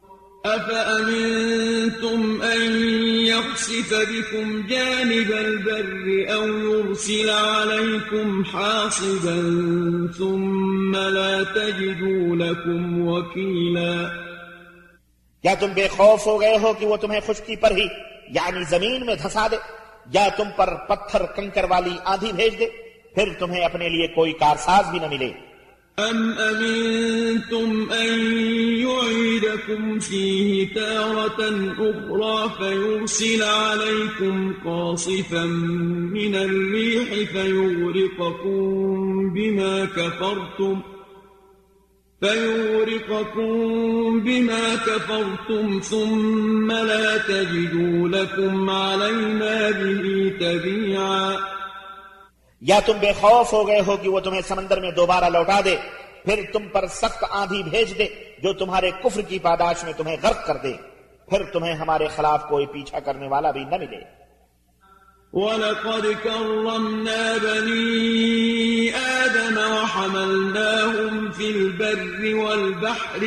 أَفَأَمِنْتُمْ أَنْ يَخْسِفَ بِكُمْ جَانِبَ الْبَرِّ أَوْ يُرْسِلَ عَلَيْكُمْ حَاصِبًا ثُمَّ لَا تَجِدُوا لَكُمْ وَكِيلًا. کیا تم بے خوف ہو گئے ہو کہ وہ تمہیں خشکی پر ہی یعنی زمین میں دھسا دے، یا تم پر پتھر کنکر والی آندھی بھیج دے، پھر تمہیں اپنے لیے کوئی کارساز بھی نہ ملے. أَمْ أَمِنْتُمْ أَنْ يُعِيدَكُمْ فِيهِ تَارَةً أُخْرَى فَيُرْسِلَ عَلَيْكُمْ قَاصِفًا مِنَ الرِّيحِ فَيُغْرِقَكُمْ بِمَا كَفَرْتُمْ ثُمَّ لَا تَجِدُوا لَكُمْ عَلَيْنَا بِهِ تَبِيعًا. یا تم بے خوف ہو گئے ہو کہ وہ تمہیں سمندر میں دوبارہ لوٹا دے، پھر تم پر سخت آندھی بھیج دے جو تمہارے کفر کی پاداش میں تمہیں غرق کر دے، پھر تمہیں ہمارے خلاف کوئی پیچھا کرنے والا بھی نہ ملے. وَلَقَدْ كَرَّمْنَا بَنِي آدَمَ وَحَمَلْنَاهُمْ فِي الْبَرِّ وَالْبَحْرِ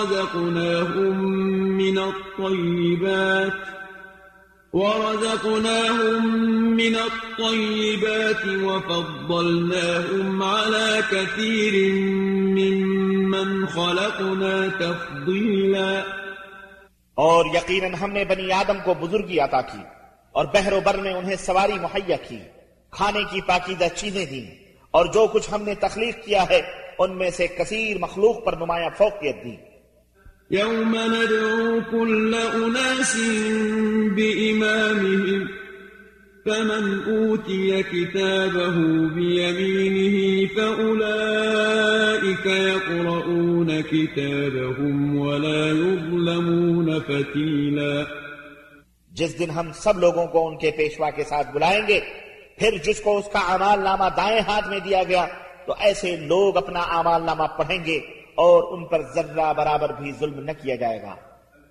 ورزقناهم من الطيبات وفضلناهم على كثير ممن خلقنا تفضيلا. اور یقیناً ہم نے بنی آدم کو بزرگی عطا کی اور بحر و بر میں انہیں سواری مہیا کی، کھانے کی پاکیزہ چیزیں دیں، اور جو کچھ ہم نے تخلیق کیا ہے ان میں سے کثیر مخلوق پر نمایاں فوقیت دی. يوم ندعو كل أناس بإمامهم فمن أوتي كتابه بيمينه فأولئك يقرؤون كتابهم ولا يظلمون فتيلا. جس دن ہم سب لوگوں کو ان کے پیشوا کے ساتھ بلائیں گے، پھر جس کو اس کا اعمال نامہ دائیں ہاتھ میں دیا گیا تو ایسے لوگ اپنا اعمال نامہ پڑھیں گے اور ان پر ذرہ برابر بھی ظلم نہ کیا جائے گا.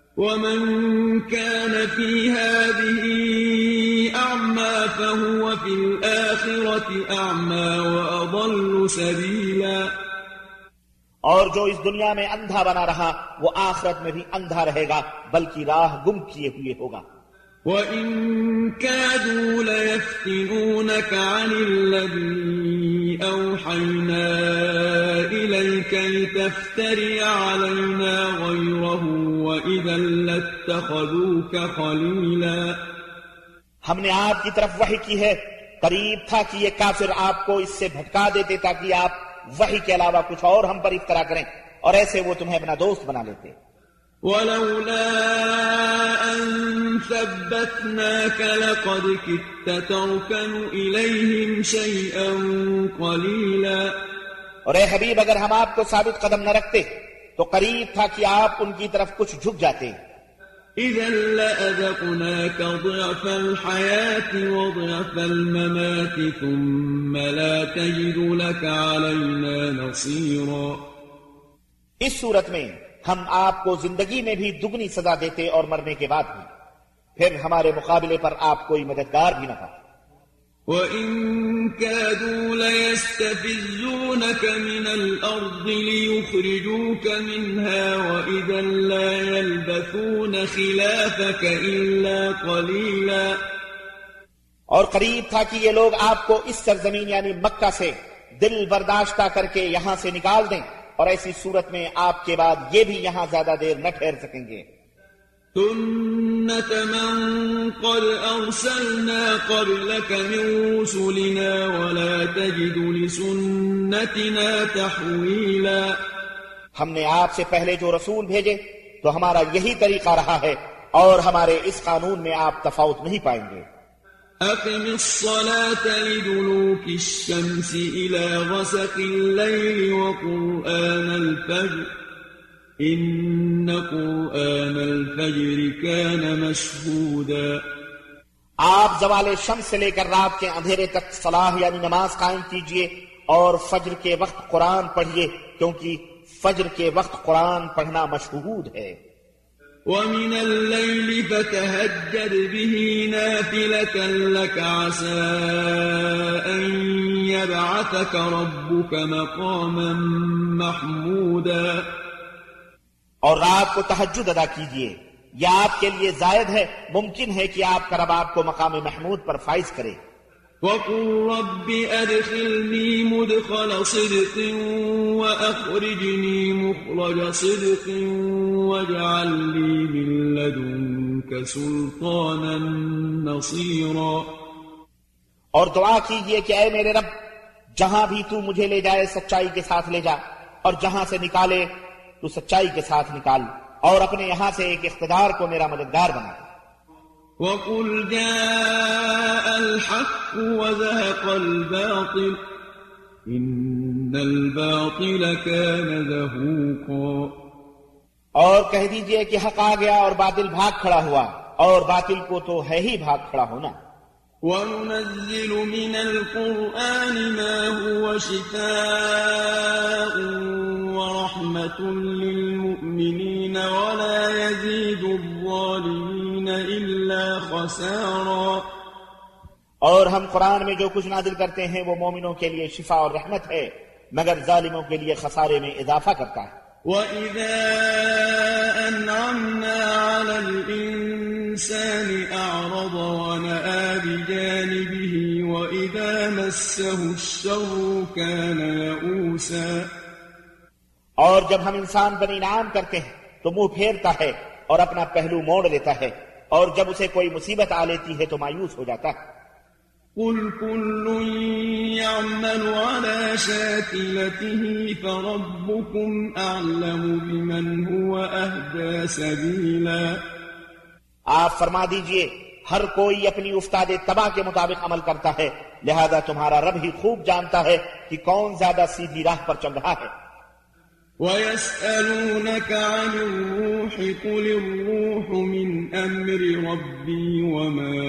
ومن كان في هذه أعمى فهو في الآخرة أعمى وأضل سبيلا. اور جو اس دنیا میں اندھا بنا رہا وہ آخرت میں بھی اندھا رہے گا بلکہ راہ گم کیے ہوئے ہوگا. وَإِن كَادُوا لَيَفْتِنُونَكَ عَنِ الَّذِي أَوْحَيْنَا إِلَيْكَ لِتَفْتَرِيَ عَلَيْنَا غَيْرَهُ وَإِذًا لَاتَّخَذُوكَ خَلِيلًا. ہم نے آپ کی طرف وحی کی ہے، قریب تھا کہ یہ کافر آپ کو اس سے بھٹکا دیتے تاکہ آپ وحی کے علاوہ کچھ اور ہم پر افطرا کریں، اور ایسے وہ تمہیں اپنا دوست بنا لیتے. وَلَوْلَا أَن ثَبَّتْنَاكَ لَقَدْ كِدتَّ تَرْكَنُ إِلَيْهِمْ شَيْئًا قَلِيلًا. اور اے حبیب اگر ہم آپ کو ثابت قدم نہ رکھتے تو قریب تھا کہ آپ ان کی طرف کچھ جھک جاتے. إِذًا لَأَذَقْنَاكَ ضِعْفَ الْحَيَاةِ وَضِعْفَ الْمَمَاتِ ثُمَّ لَا تَجِدُ لَكَ عَلَيْنَا نَصِيرًا. اس صورت میں ہم آپ کو زندگی میں بھی دگنی سزا دیتے اور مرنے کے بعد بھی، پھر ہمارے مقابلے پر آپ کوئی مددگار بھی نہ پاتے. وَإِن كَادُوا لَيَسْتَفِزُّونَكَ مِنَ الْأَرْضِ لِيُخْرِجُوكَ مِنْهَا وَإِذًا لَّا يَلْبَثُونَ خِلَافَكَ إِلَّا قَلِيلًا. اور قریب تھا کہ یہ لوگ آپ کو اس سرزمین یعنی مکہ سے دل برداشتہ کر کے یہاں سے نکال دیں، اور ایسی صورت میں آپ کے بعد یہ بھی یہاں زیادہ دیر نہ ٹھہر سکیں گے. سُنَّةَ مَن قَدْ أَرْسَلْنَا قَبْلَكَ مِن رُّسُلِنَا وَلَا تَجِدُ لِسُنَّتِنَا تَحْوِيلًا. ہم نے آپ سے پہلے جو رسول بھیجے تو ہمارا یہی طریقہ رہا ہے، اور ہمارے اس قانون میں آپ تفاوت نہیں پائیں گے. أقم الصلاة لدلوك الشمس إلى غسق الليل وقرآن الفجر إن قرآن الفجر كان مشهودا. آپ زوال شمس سے لے کر رات کے اندھیرے تک صلاح یعنی نماز قائم کیجئے، اور فجر کے وقت قرآن پڑھیے، کیونکہ فجر کے وقت قرآن پڑھنا مشہود ہے. وَمِنَ اللَّيْلِ فَتَهَجَّدْ بِهِ نَافِلَةً لَكَ عَسَىٰ أَن يَبْعَثَكَ رَبُّكَ مَقَامًا مَّحْمُودًا. اور رات کو تہجد ادا کیجئے، یہ آپ کے لیے زائد ہے، ممکن ہے کہ آپ کا رب آپ کو مقام محمود پر فائز کرے. وَقُل رَّبِّ أَدْخِلْنِي مُدْخَلَ صِدْقٍ وَأَخْرِجْنِي مُخْرَجَ صِدْقٍ وَاجْعَل لِّي مِن لَّدُنكَ سُلْطَانًا نَّصِيرًا. اور دعا کیجئے کہ اے میرے رب، جہاں بھی تو مجھے لے جائے سچائی کے ساتھ لے جا، اور جہاں سے نکالے تو سچائی کے ساتھ نکال، اور اپنے یہاں سے ایک اقتدار کو میرا مددگار بنا. وَقُلْ جَاءَ الْحَقُّ وَزَهَقَ الْبَاطِلُ إِنَّ الْبَاطِلَ كَانَ زَهُوقًا. اور کہہ دیجئے کہ حق آ گیا اور باطل بھاگ کھڑا ہوا، اور باطل کو تو ہے ہی بھاگ کھڑا ہونا. وَنُنَزِّلُ مِنَ الْقُرْآنِ مَا هُوَ شِفَاءٌ وَرَحْمَةٌ لِّلْمُؤْمِنِينَ وَلَا يَزِيدُ الظَّالِمِينَ إِلَّا خَسَارًا. اور ہم قرآن میں جو کچھ نازل کرتے ہیں وہ مومنوں کے لیے شفا اور رحمت ہے، مگر ظالموں کے لیے خسارے میں اضافہ کرتا ہے. وَإِذَا أَنْعَمْنَا عَلَى الْإِنسَانِ أَعْرَضَ وَنَأَىٰ بِجَانِبِهِ وَإِذَا مَسَّهُ الشَّرُّ كَانَ يَئُوسًا. اور جب ہم انسان پر انعام کرتے ہیں تو منہ پھیرتا ہے اور اپنا پہلو موڑ لیتا ہے، اور جب اسے کوئی مصیبت آ لیتی ہے تو مایوس ہو جاتا ہے. قُلْ كُلٌّ يَعْمَلُ عَلَىٰ شَاكِلَتِهِ فَرَبُّكُمْ أَعْلَمُ بِمَنْ هُوَ أَهْدَىٰ سَبِيلًا. آپ فرما دیجئے ہر کوئی اپنی افتاد تباہ کے مطابق عمل کرتا ہے، لہذا تمہارا رب ہی خوب جانتا ہے کہ کون زیادہ سیدھی راہ پر چل رہا ہے. وَيَسْأَلُونَكَ عَنِ الرُّوحِ قُلِ الرُّوحُ مِنْ أَمْرِ رَبِّي وَمَا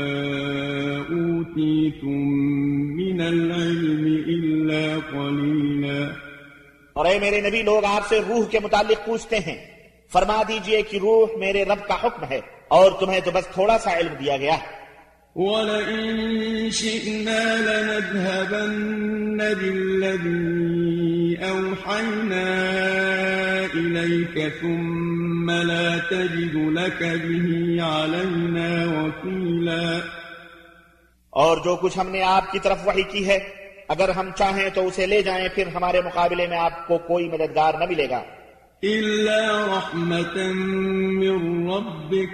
أُوتِيتُم مِّنَ الْعِلْمِ إِلَّا قَلِيلًا. اور اے میرے نبی، لوگ آپ سے روح کے متعلق پوچھتے ہیں، فرما دیجئے کہ روح میرے رب کا حکم ہے اور تمہیں تو بس تھوڑا سا علم دیا گیا ہے۔ وَلَئِن شِئْنَا لَنَذْهَبَنَّ بِالَّذِي أَوْحَيْنَا إِلَيْكَ ثُمَّ لَا تَجِدُ لَكَ بِهِ عَلَيْنَا وَكِيلًا۔ اور جو کچھ ہم نے آپ کی طرف وحی کی ہے، اگر ہم چاہیں تو اسے لے جائیں، پھر ہمارے مقابلے میں آپ کو کوئی مددگار نہ ملے گا۔ إِلَّا رَحْمَةً مِّن رَّبِّكَ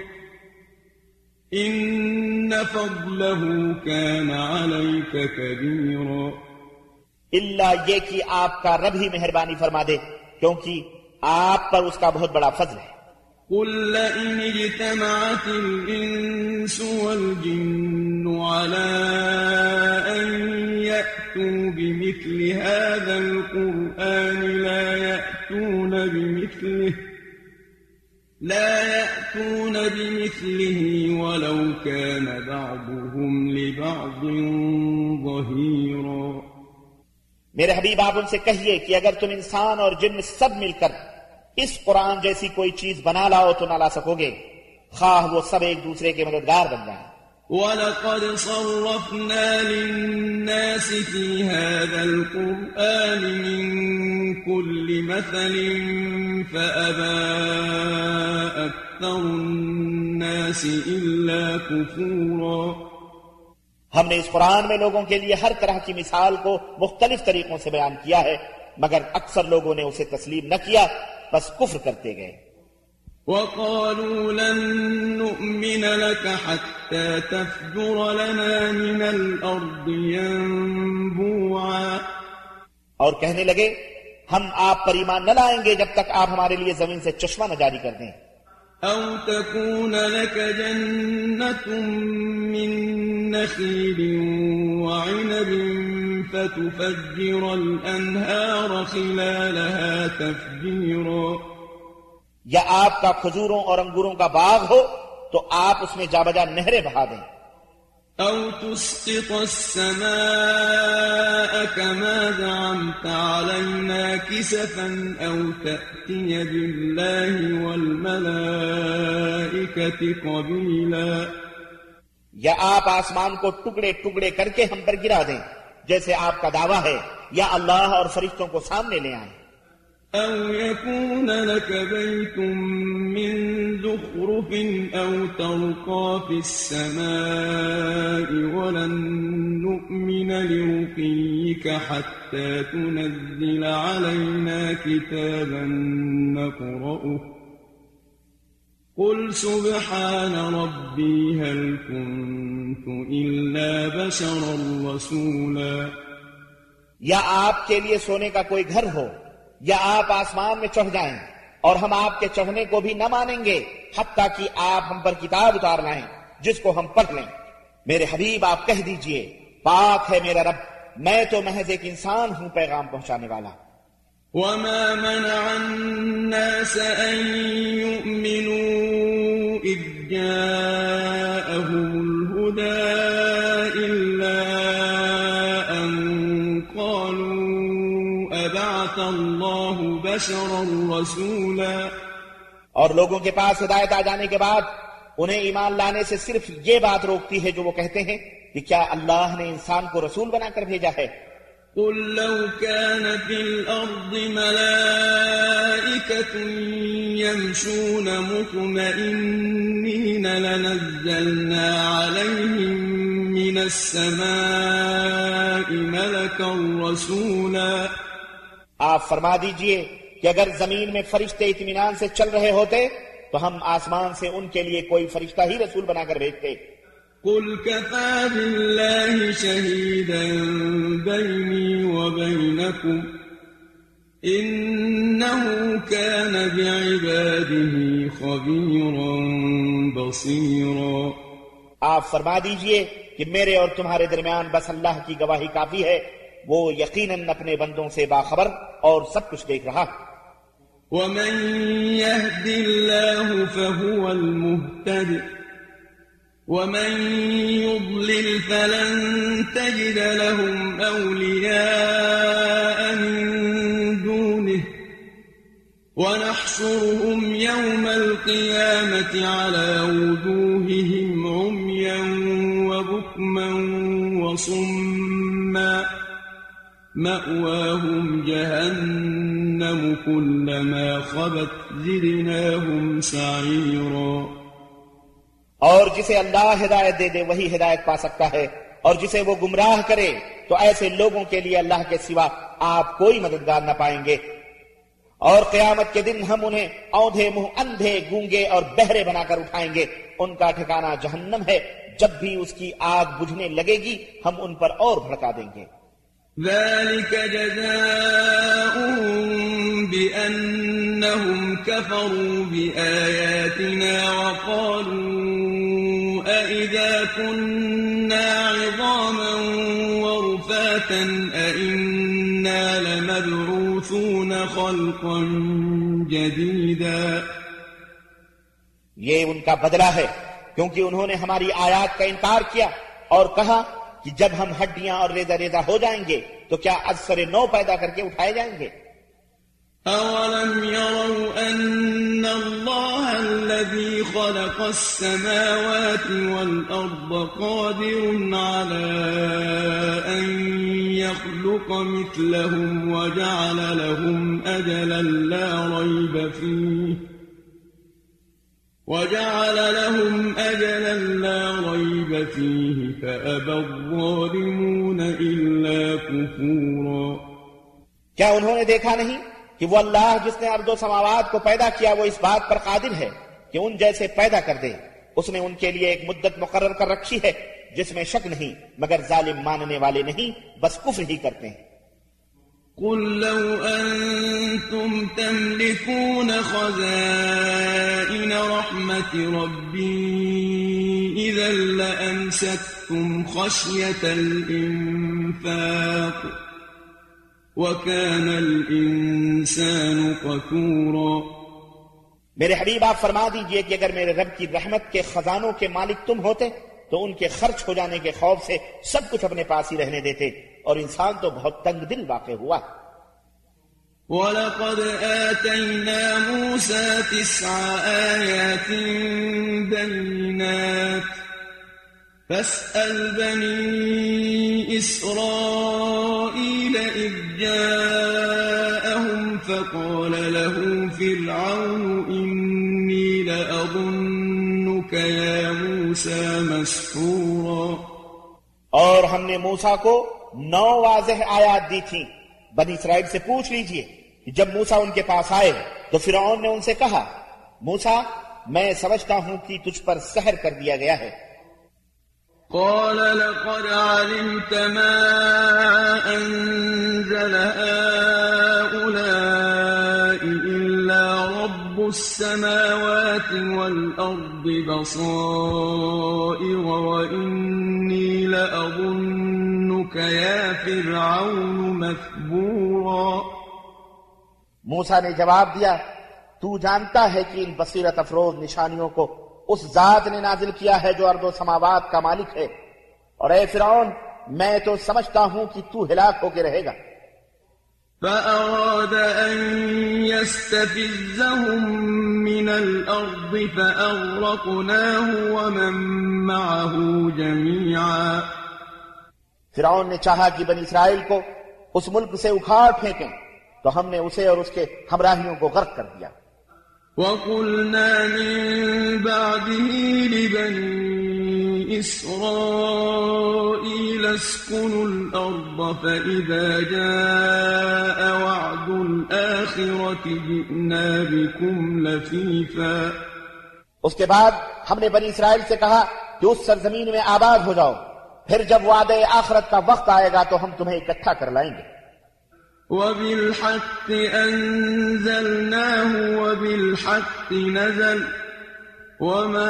إِنَّ فَضْلَهُ كَانَ عَلَيْكَ كَبِيرًا۔ اللہ یہ کہ آپ کا رب ہی مہربانی فرما دے، کیونکہ آپ پر اس کا بہت بڑا فضل ہے۔ قُل لَّئِنِ اجْتَمَعَتِ الْإِنسُ وَالْجِنُّ عَلَىٰ أَن يَأْتُوا بِمِثْلِ هَٰذَا الْقُرْآنِ لا يأتون بمثله ولو كان بعضهم لبعض ظهيرا۔ میرے حبیب آپ ان سے کہیے کہ اگر تم انسان اور جن سب مل کر اس قرآن جیسی کوئی چیز بنا لاؤ تو نہ لا سکو گے، خواہ وہ سب ایک دوسرے کے مددگار بن جائیں۔ وَلَقَدْ صَرَّفْنَا لِلنَّاسِ فِي هَذَا الْقُرْآنِ مِنْ كُلِّ مَثَلٍ فَأَبَىٰ أَكْثَرُ النَّاسِ إِلَّا كُفُورًا۔ ہم نے اس قرآن میں لوگوں کے لیے ہر طرح کی مثال کو مختلف طریقوں سے بیان کیا ہے، مگر اکثر لوگوں نے اسے تسلیم نہ کیا، بس کفر کرتے گئے۔ وَقَالُوا لَن نُّؤْمِنَ لَكَ حَتَّىٰ تَفْجُرَ لَنَا مِنَ الْأَرْضِ يَنبُوعًا۔ اور کہنے لگے ہم آپ پر ایمان نہ لائیں گے جب تک آپ ہمارے لیے زمین سے چشمہ نہ جاری کر دیں۔ أَوْ تَكُونَ لَكَ جَنَّةٌ مِّن نَّخِيلٍ وَعِنَبٍ فَتُفَجِّرَ الْأَنْهَارَ خِلَالَهَا تَفْجِيرًا۔ یا آپ کا کھجوروں اور انگوروں کا باغ ہو تو آپ اس میں جا بجا نہریں بہا دیں۔ أَوْ تُسْقِطَ السَّمَاءَ كَمَا زَعَمْتَ عَلَيْنَا كِسَفًا أَوْ تَأْتِيَ بِاللَّهِ وَالْمَلَائِكَةِ قَبِيلًا۔ یا آپ آسمان کو ٹکڑے ٹکڑے کر کے ہم پر گرا دیں جیسے آپ کا دعویٰ ہے، یا اللہ اور فرشتوں کو سامنے لے آئیں۔ أَوْ يَكُونَ لَكَ بَيْتٌ مِّن زُخْرُفٍ أَوْ تَرْقَىٰ فِي السَّمَاءِ وَلَن نُّؤْمِنَ لِرُقِيِّكَ حَتَّىٰ تُنَزِّلَ عَلَيْنَا كِتَابًا نَّقْرَؤُهُ قُلْ سُبْحَانَ رَبِّي هَلْ كُنتُ إِلَّا بَشَرًا رَّسُولًا۔ یا آپ کے لیے سونے کا کوئی گھر ہو، یا آپ آسمان میں چڑھ جائیں اور ہم آپ کے چڑھنے کو بھی نہ مانیں گے حتیٰ کہ آپ ہم پر کتاب اتار لائیں جس کو ہم پڑھ لیں۔ میرے حبیب آپ کہہ دیجئے پاک ہے میرا رب، میں تو محض ایک انسان ہوں پیغام پہنچانے والا۔ وَمَا مَنَعَ النَّاسَ أَن يُؤْمِنُوا إِذْ جَاءَهُمُ الْهُدَىٰ إِلَّا أَن قَالُوا أَبَعَثَ اللَّهُ بَشَرًا رَّسُولًا۔ اور لوگوں کے پاس ہدایت آ جانے کے بعد انہیں ایمان لانے سے صرف یہ بات روکتی ہے جو وہ کہتے ہیں کہ کیا اللہ نے انسان کو رسول بنا کر بھیجا ہے۔ قُل لَّوْ كَانَ فِي الْأَرْضِ مَلَائِكَةٌ يَمْشُونَ مُطْمَئِنِّينَ لَنَزَّلْنَا عَلَيْهِم مِّنَ السَّمَاءِ مَلَكًا رَّسُولًا۔ آپ فرما دیجئے کہ اگر زمین میں فرشتے اطمینان سے چل رہے ہوتے تو ہم آسمان سے ان کے لیے کوئی فرشتہ ہی رسول بنا کر بھیجتے۔ قُلْ كَفَىٰ بِاللَّهِ شَهِيدًا بَيْنِي وَبَيْنَكُمْ إِنَّهُ كَانَ بِعِبَادِهِ خَبِيرًا بَصِيرًا۔ آپ فرما دیجئے کہ میرے اور تمہارے درمیان بس اللہ کی گواہی کافی ہے، وہ یقیناً اپنے بندوں سے باخبر اور سب کچھ دیکھ رہا۔ وَمَن يَهْدِ اللَّهُ فَهُوَ الْمُهْتَدِ وَمَن يُضْلِلْ فَلَن تَجِدَ لَهُمْ أَوْلِيَاءَ مِن دُونِهِ ونحشرهم يوم القيامة على وجوههم عميا وبكما وصما مأواهم جهنم كلما خبت زدناهم سعيرا. اور جسے اللہ ہدایت دے دے وہی ہدایت پا سکتا ہے، اور جسے وہ گمراہ کرے تو ایسے لوگوں کے لیے اللہ کے سوا آپ کوئی مددگار نہ پائیں گے. اور قیامت کے دن ہم انہیں اوندھے منہ اندھے گونگے اور بہرے بنا کر اٹھائیں گے. ان کا ٹھکانہ جہنم ہے، جب بھی اس کی آگ بجھنے لگے گی ہم ان پر اور بھڑکا دیں گے. ذلك جزاؤهم بأنهم كفروا بآياتنا وقالوا أإذا كنا عظاما ورفاتا أإنا لمبعوثون خلقا جديدا. یہ ان کا بدلہ ہے کیونکہ انہوں نے ہماری آیات کا انکار کیا اور کہا کہ جب ہم ہڈیاں اور ریزہ ریزہ ہو جائیں گے تو کیا از سر نو پیدا کر کے اٹھائے جائیں گے. أَوَلَمْ يَرَوْا أَنَّ اللَّهَ الَّذِي خَلَقَ السَّمَاوَاتِ وَالْأَرْضَ قَادِرٌ عَلَىٰ أَن يَخْلُقَ مِثْلَهُمْ وَجَعَلَ لَهُمْ أَجَلًا لَّا رَيْبَ فِيهِ فَأَبَى الظَّالِمُونَ إِلَّا كُفُورًا. کیا انہوں نے دیکھا نہیں کہ وہ اللہ جس نے ارض و سماوات کو پیدا کیا وہ اس بات پر قادر ہے کہ ان جیسے پیدا کر دے. اس نے ان کے لیے ایک مدت مقرر کر رکھی ہے جس میں شک نہیں، مگر ظالم ماننے والے نہیں، بس کفر ہی کرتے ہیں. قل لو أنتم تملكون خزائن رحمة ربي إذا لأمسكتم خشية الإنفاق وكان الإنسان قتورا. میرے حبیب آپ فرما دیجئے کہ اگر میرے رب کی رحمت کے خزانوں کے مالک تم ہوتے تو ان کے خرچ ہو جانے کے خوف سے سب کچھ اپنے پاس ہی رہنے دیتے، اور انسان تو بہت تنگ دل واقع ہوا. وَلَقَدْ آتَيْنَا مُوسَى 9 آيَاتٍ بَيِّنَاتٍ فَاسْأَلْ بَنِي إِسْرَائِيلَ إِذْ جَاءَهُمْ فَقَالَ لَهُ فِرْعَوْنُ إِنِّي لَأَظُنُّكَ يَا مُوسَى مَسْحُورًا. اور ہم نے موسیٰ کو 9 واضح آیات دی تھیں. بنی اسرائیل سے پوچھ لیجئے کہ جب موسیٰ ان کے پاس آئے تو فرعون نے ان سے کہا، موسیٰ میں سمجھتا ہوں کہ تجھ پر سحر کر دیا گیا ہے. قال لقد علمت ما أنزل هؤلاء إلا رب السماوات والأرض بصائر وإني لأظنك يا فرعون مثبورا. موسیٰ نے جواب دیا، تو جانتا ہے کہ ان بصیرت افروز نشانیوں کو اس ذات نے نازل کیا ہے جو ارض و سماوات کا مالک ہے، اور اے فرعون میں تو سمجھتا ہوں کہ تو ہلاک ہو کے رہے گا. فأراد أن يستفزهم من الأرض فأغرقناه ومن معه جميعا. فرعون نے چاہا کہ بنی اسرائیل کو اس ملک سے اکھاڑ پھینکیں تو ہم نے اسے اور اس کے ہمراہیوں کو غرق کر دیا. وَقُلْنَا مِن بَعْدِهِ لِبَنِي إِسْرَائِيلَ اسْكُنُوا الْأَرْضَ فَإِذَا جَاءَ وَعْدُ الْآخِرَةِ جِئْنَا بِكُمْ لَفِيفًا. اس کے بعد ہم نے بنی اسرائیل سے کہا کہ اس سرزمین میں آباد ہو جاؤ، پھر جب وعدے آخرت کا وقت آئے گا تو ہم تمہیں اکٹھا کر لائیں گے. وَبِالْحَقِّ أَنزَلْنَاهُ وَبِالْحَقِّ نَزَلَ وَمَا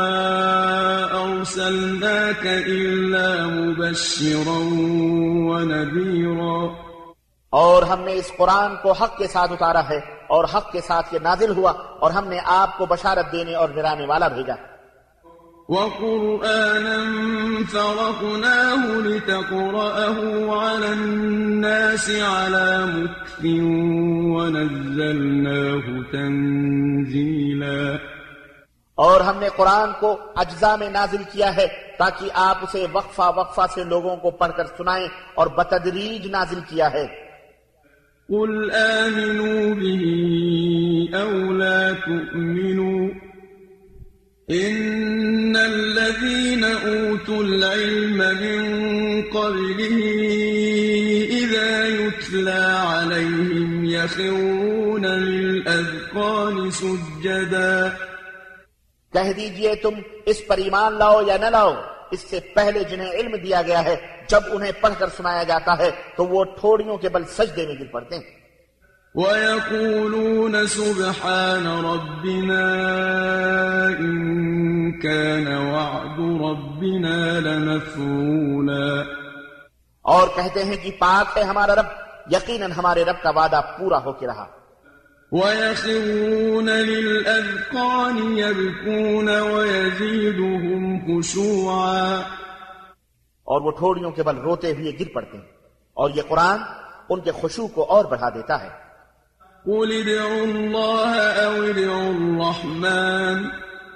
أَرْسَلْنَاكَ إِلَّا مُبَشِّرًا وَنَذِيرًا. اور ہم نے اس قرآن کو حق کے ساتھ اتارا ہے اور حق کے ساتھ یہ نازل ہوا، اور ہم نے آپ کو بشارت دینے اور ڈرانے والا بھیجا. وقرآنا فرقناه لتقرأه على الناس على مكث ونزلناه تنزيلا اور ہم نے قرآن کو اجزاء میں نازل کیا ہے تاکہ آپ اسے وقفہ وقفہ سے لوگوں کو پڑھ کر سنائیں اور بتدریج نازل کیا ہے. قل آمنوا به أو لا تؤمنوا إن الذين أوتوا العلم من قبله إذا يتلى عليهم يخرون للأذقان سجدا. کہہ دیجئے تم اس پر ایمان لاؤ یا نہ لاؤ، اس سے پہلے جنہیں علم دیا گیا ہے جب انہیں پڑھ کر سنایا جاتا ہے تو وہ ٹھوڑیوں کے بل سجدے میں گر پڑتے ہیں. وَيَقُولُونَ سُبْحَانَ رَبِّنَا إِن كَانَ وَعْدُ رَبِّنَا لَمَفْعُولًا. اور کہتے ہیں کہ پاک ہے ہمارا رب، یقیناً ہمارے رب کا وعدہ پورا ہو کے رہا. وَيَخِرُّونَ لِلْأَذْقَانِ يَبْكُونَ وَيَزِيدُهُمْ خُشُوعًا. اور وہ ٹھوڑیوں کے بل روتے ہوئے گر پڑتے ہیں اور یہ قرآن ان کے خشوع کو اور بڑھا دیتا ہے. قُلِ ادْعُوا اللَّهَ أَوِ ادْعُوا الرَّحْمَٰنَ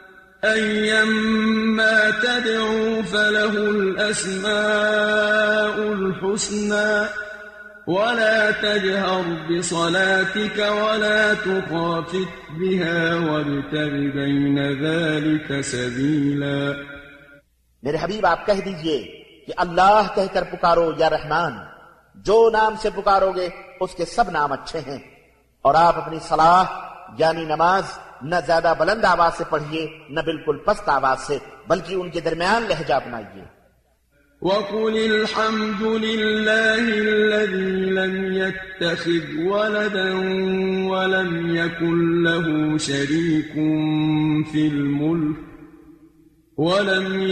أَيًّمَّا تَدْعُوا فَلَهُ الْأَسْمَاءُ الْحُسْنَىٰ وَلَا تَجْهَرْ بِصَلَاتِكَ وَلَا تُخَافِتْ بِهَا وَابْتَغِ بَيْنَ ذَلِكَ سَبِيلًا. میرے حبیب آپ کہہ دیجئے کہ اللہ کہہ کر پکارو یا رحمان، جو نام سے پکارو گے اس کے سب نام اچھے ہیں، اور آپ اپنی صلاح یعنی نماز نہ زیادہ بلند آواز سے پڑھیے نہ بالکل پست آواز سے، بلکہ ان کے درمیان لہجہ اپنائیے. وَقُلِ الْحَمْدُ لِلَّهِ الَّذِي لَمْ يَتَّخِذْ وَلَدًا وَلَمْ يَكُنْ لَهُ شَرِيكٌ فِي الْمُلْكِ ولم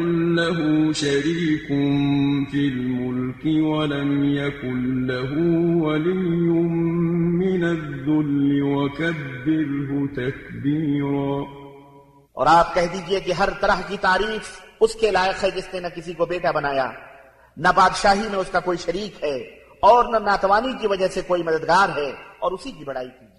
يكن له ولي من الذل وكبره تكبيرا. اور آپ کہہ دیجئے کہ ہر طرح کی تعریف اس کے لائق ہے جس نے نہ کسی کو بیٹا بنایا، نہ بادشاہی میں اس کا کوئی شریک ہے، اور نہ ناتوانی کی وجہ سے کوئی مددگار ہے، اور اسی کی بڑائی کی.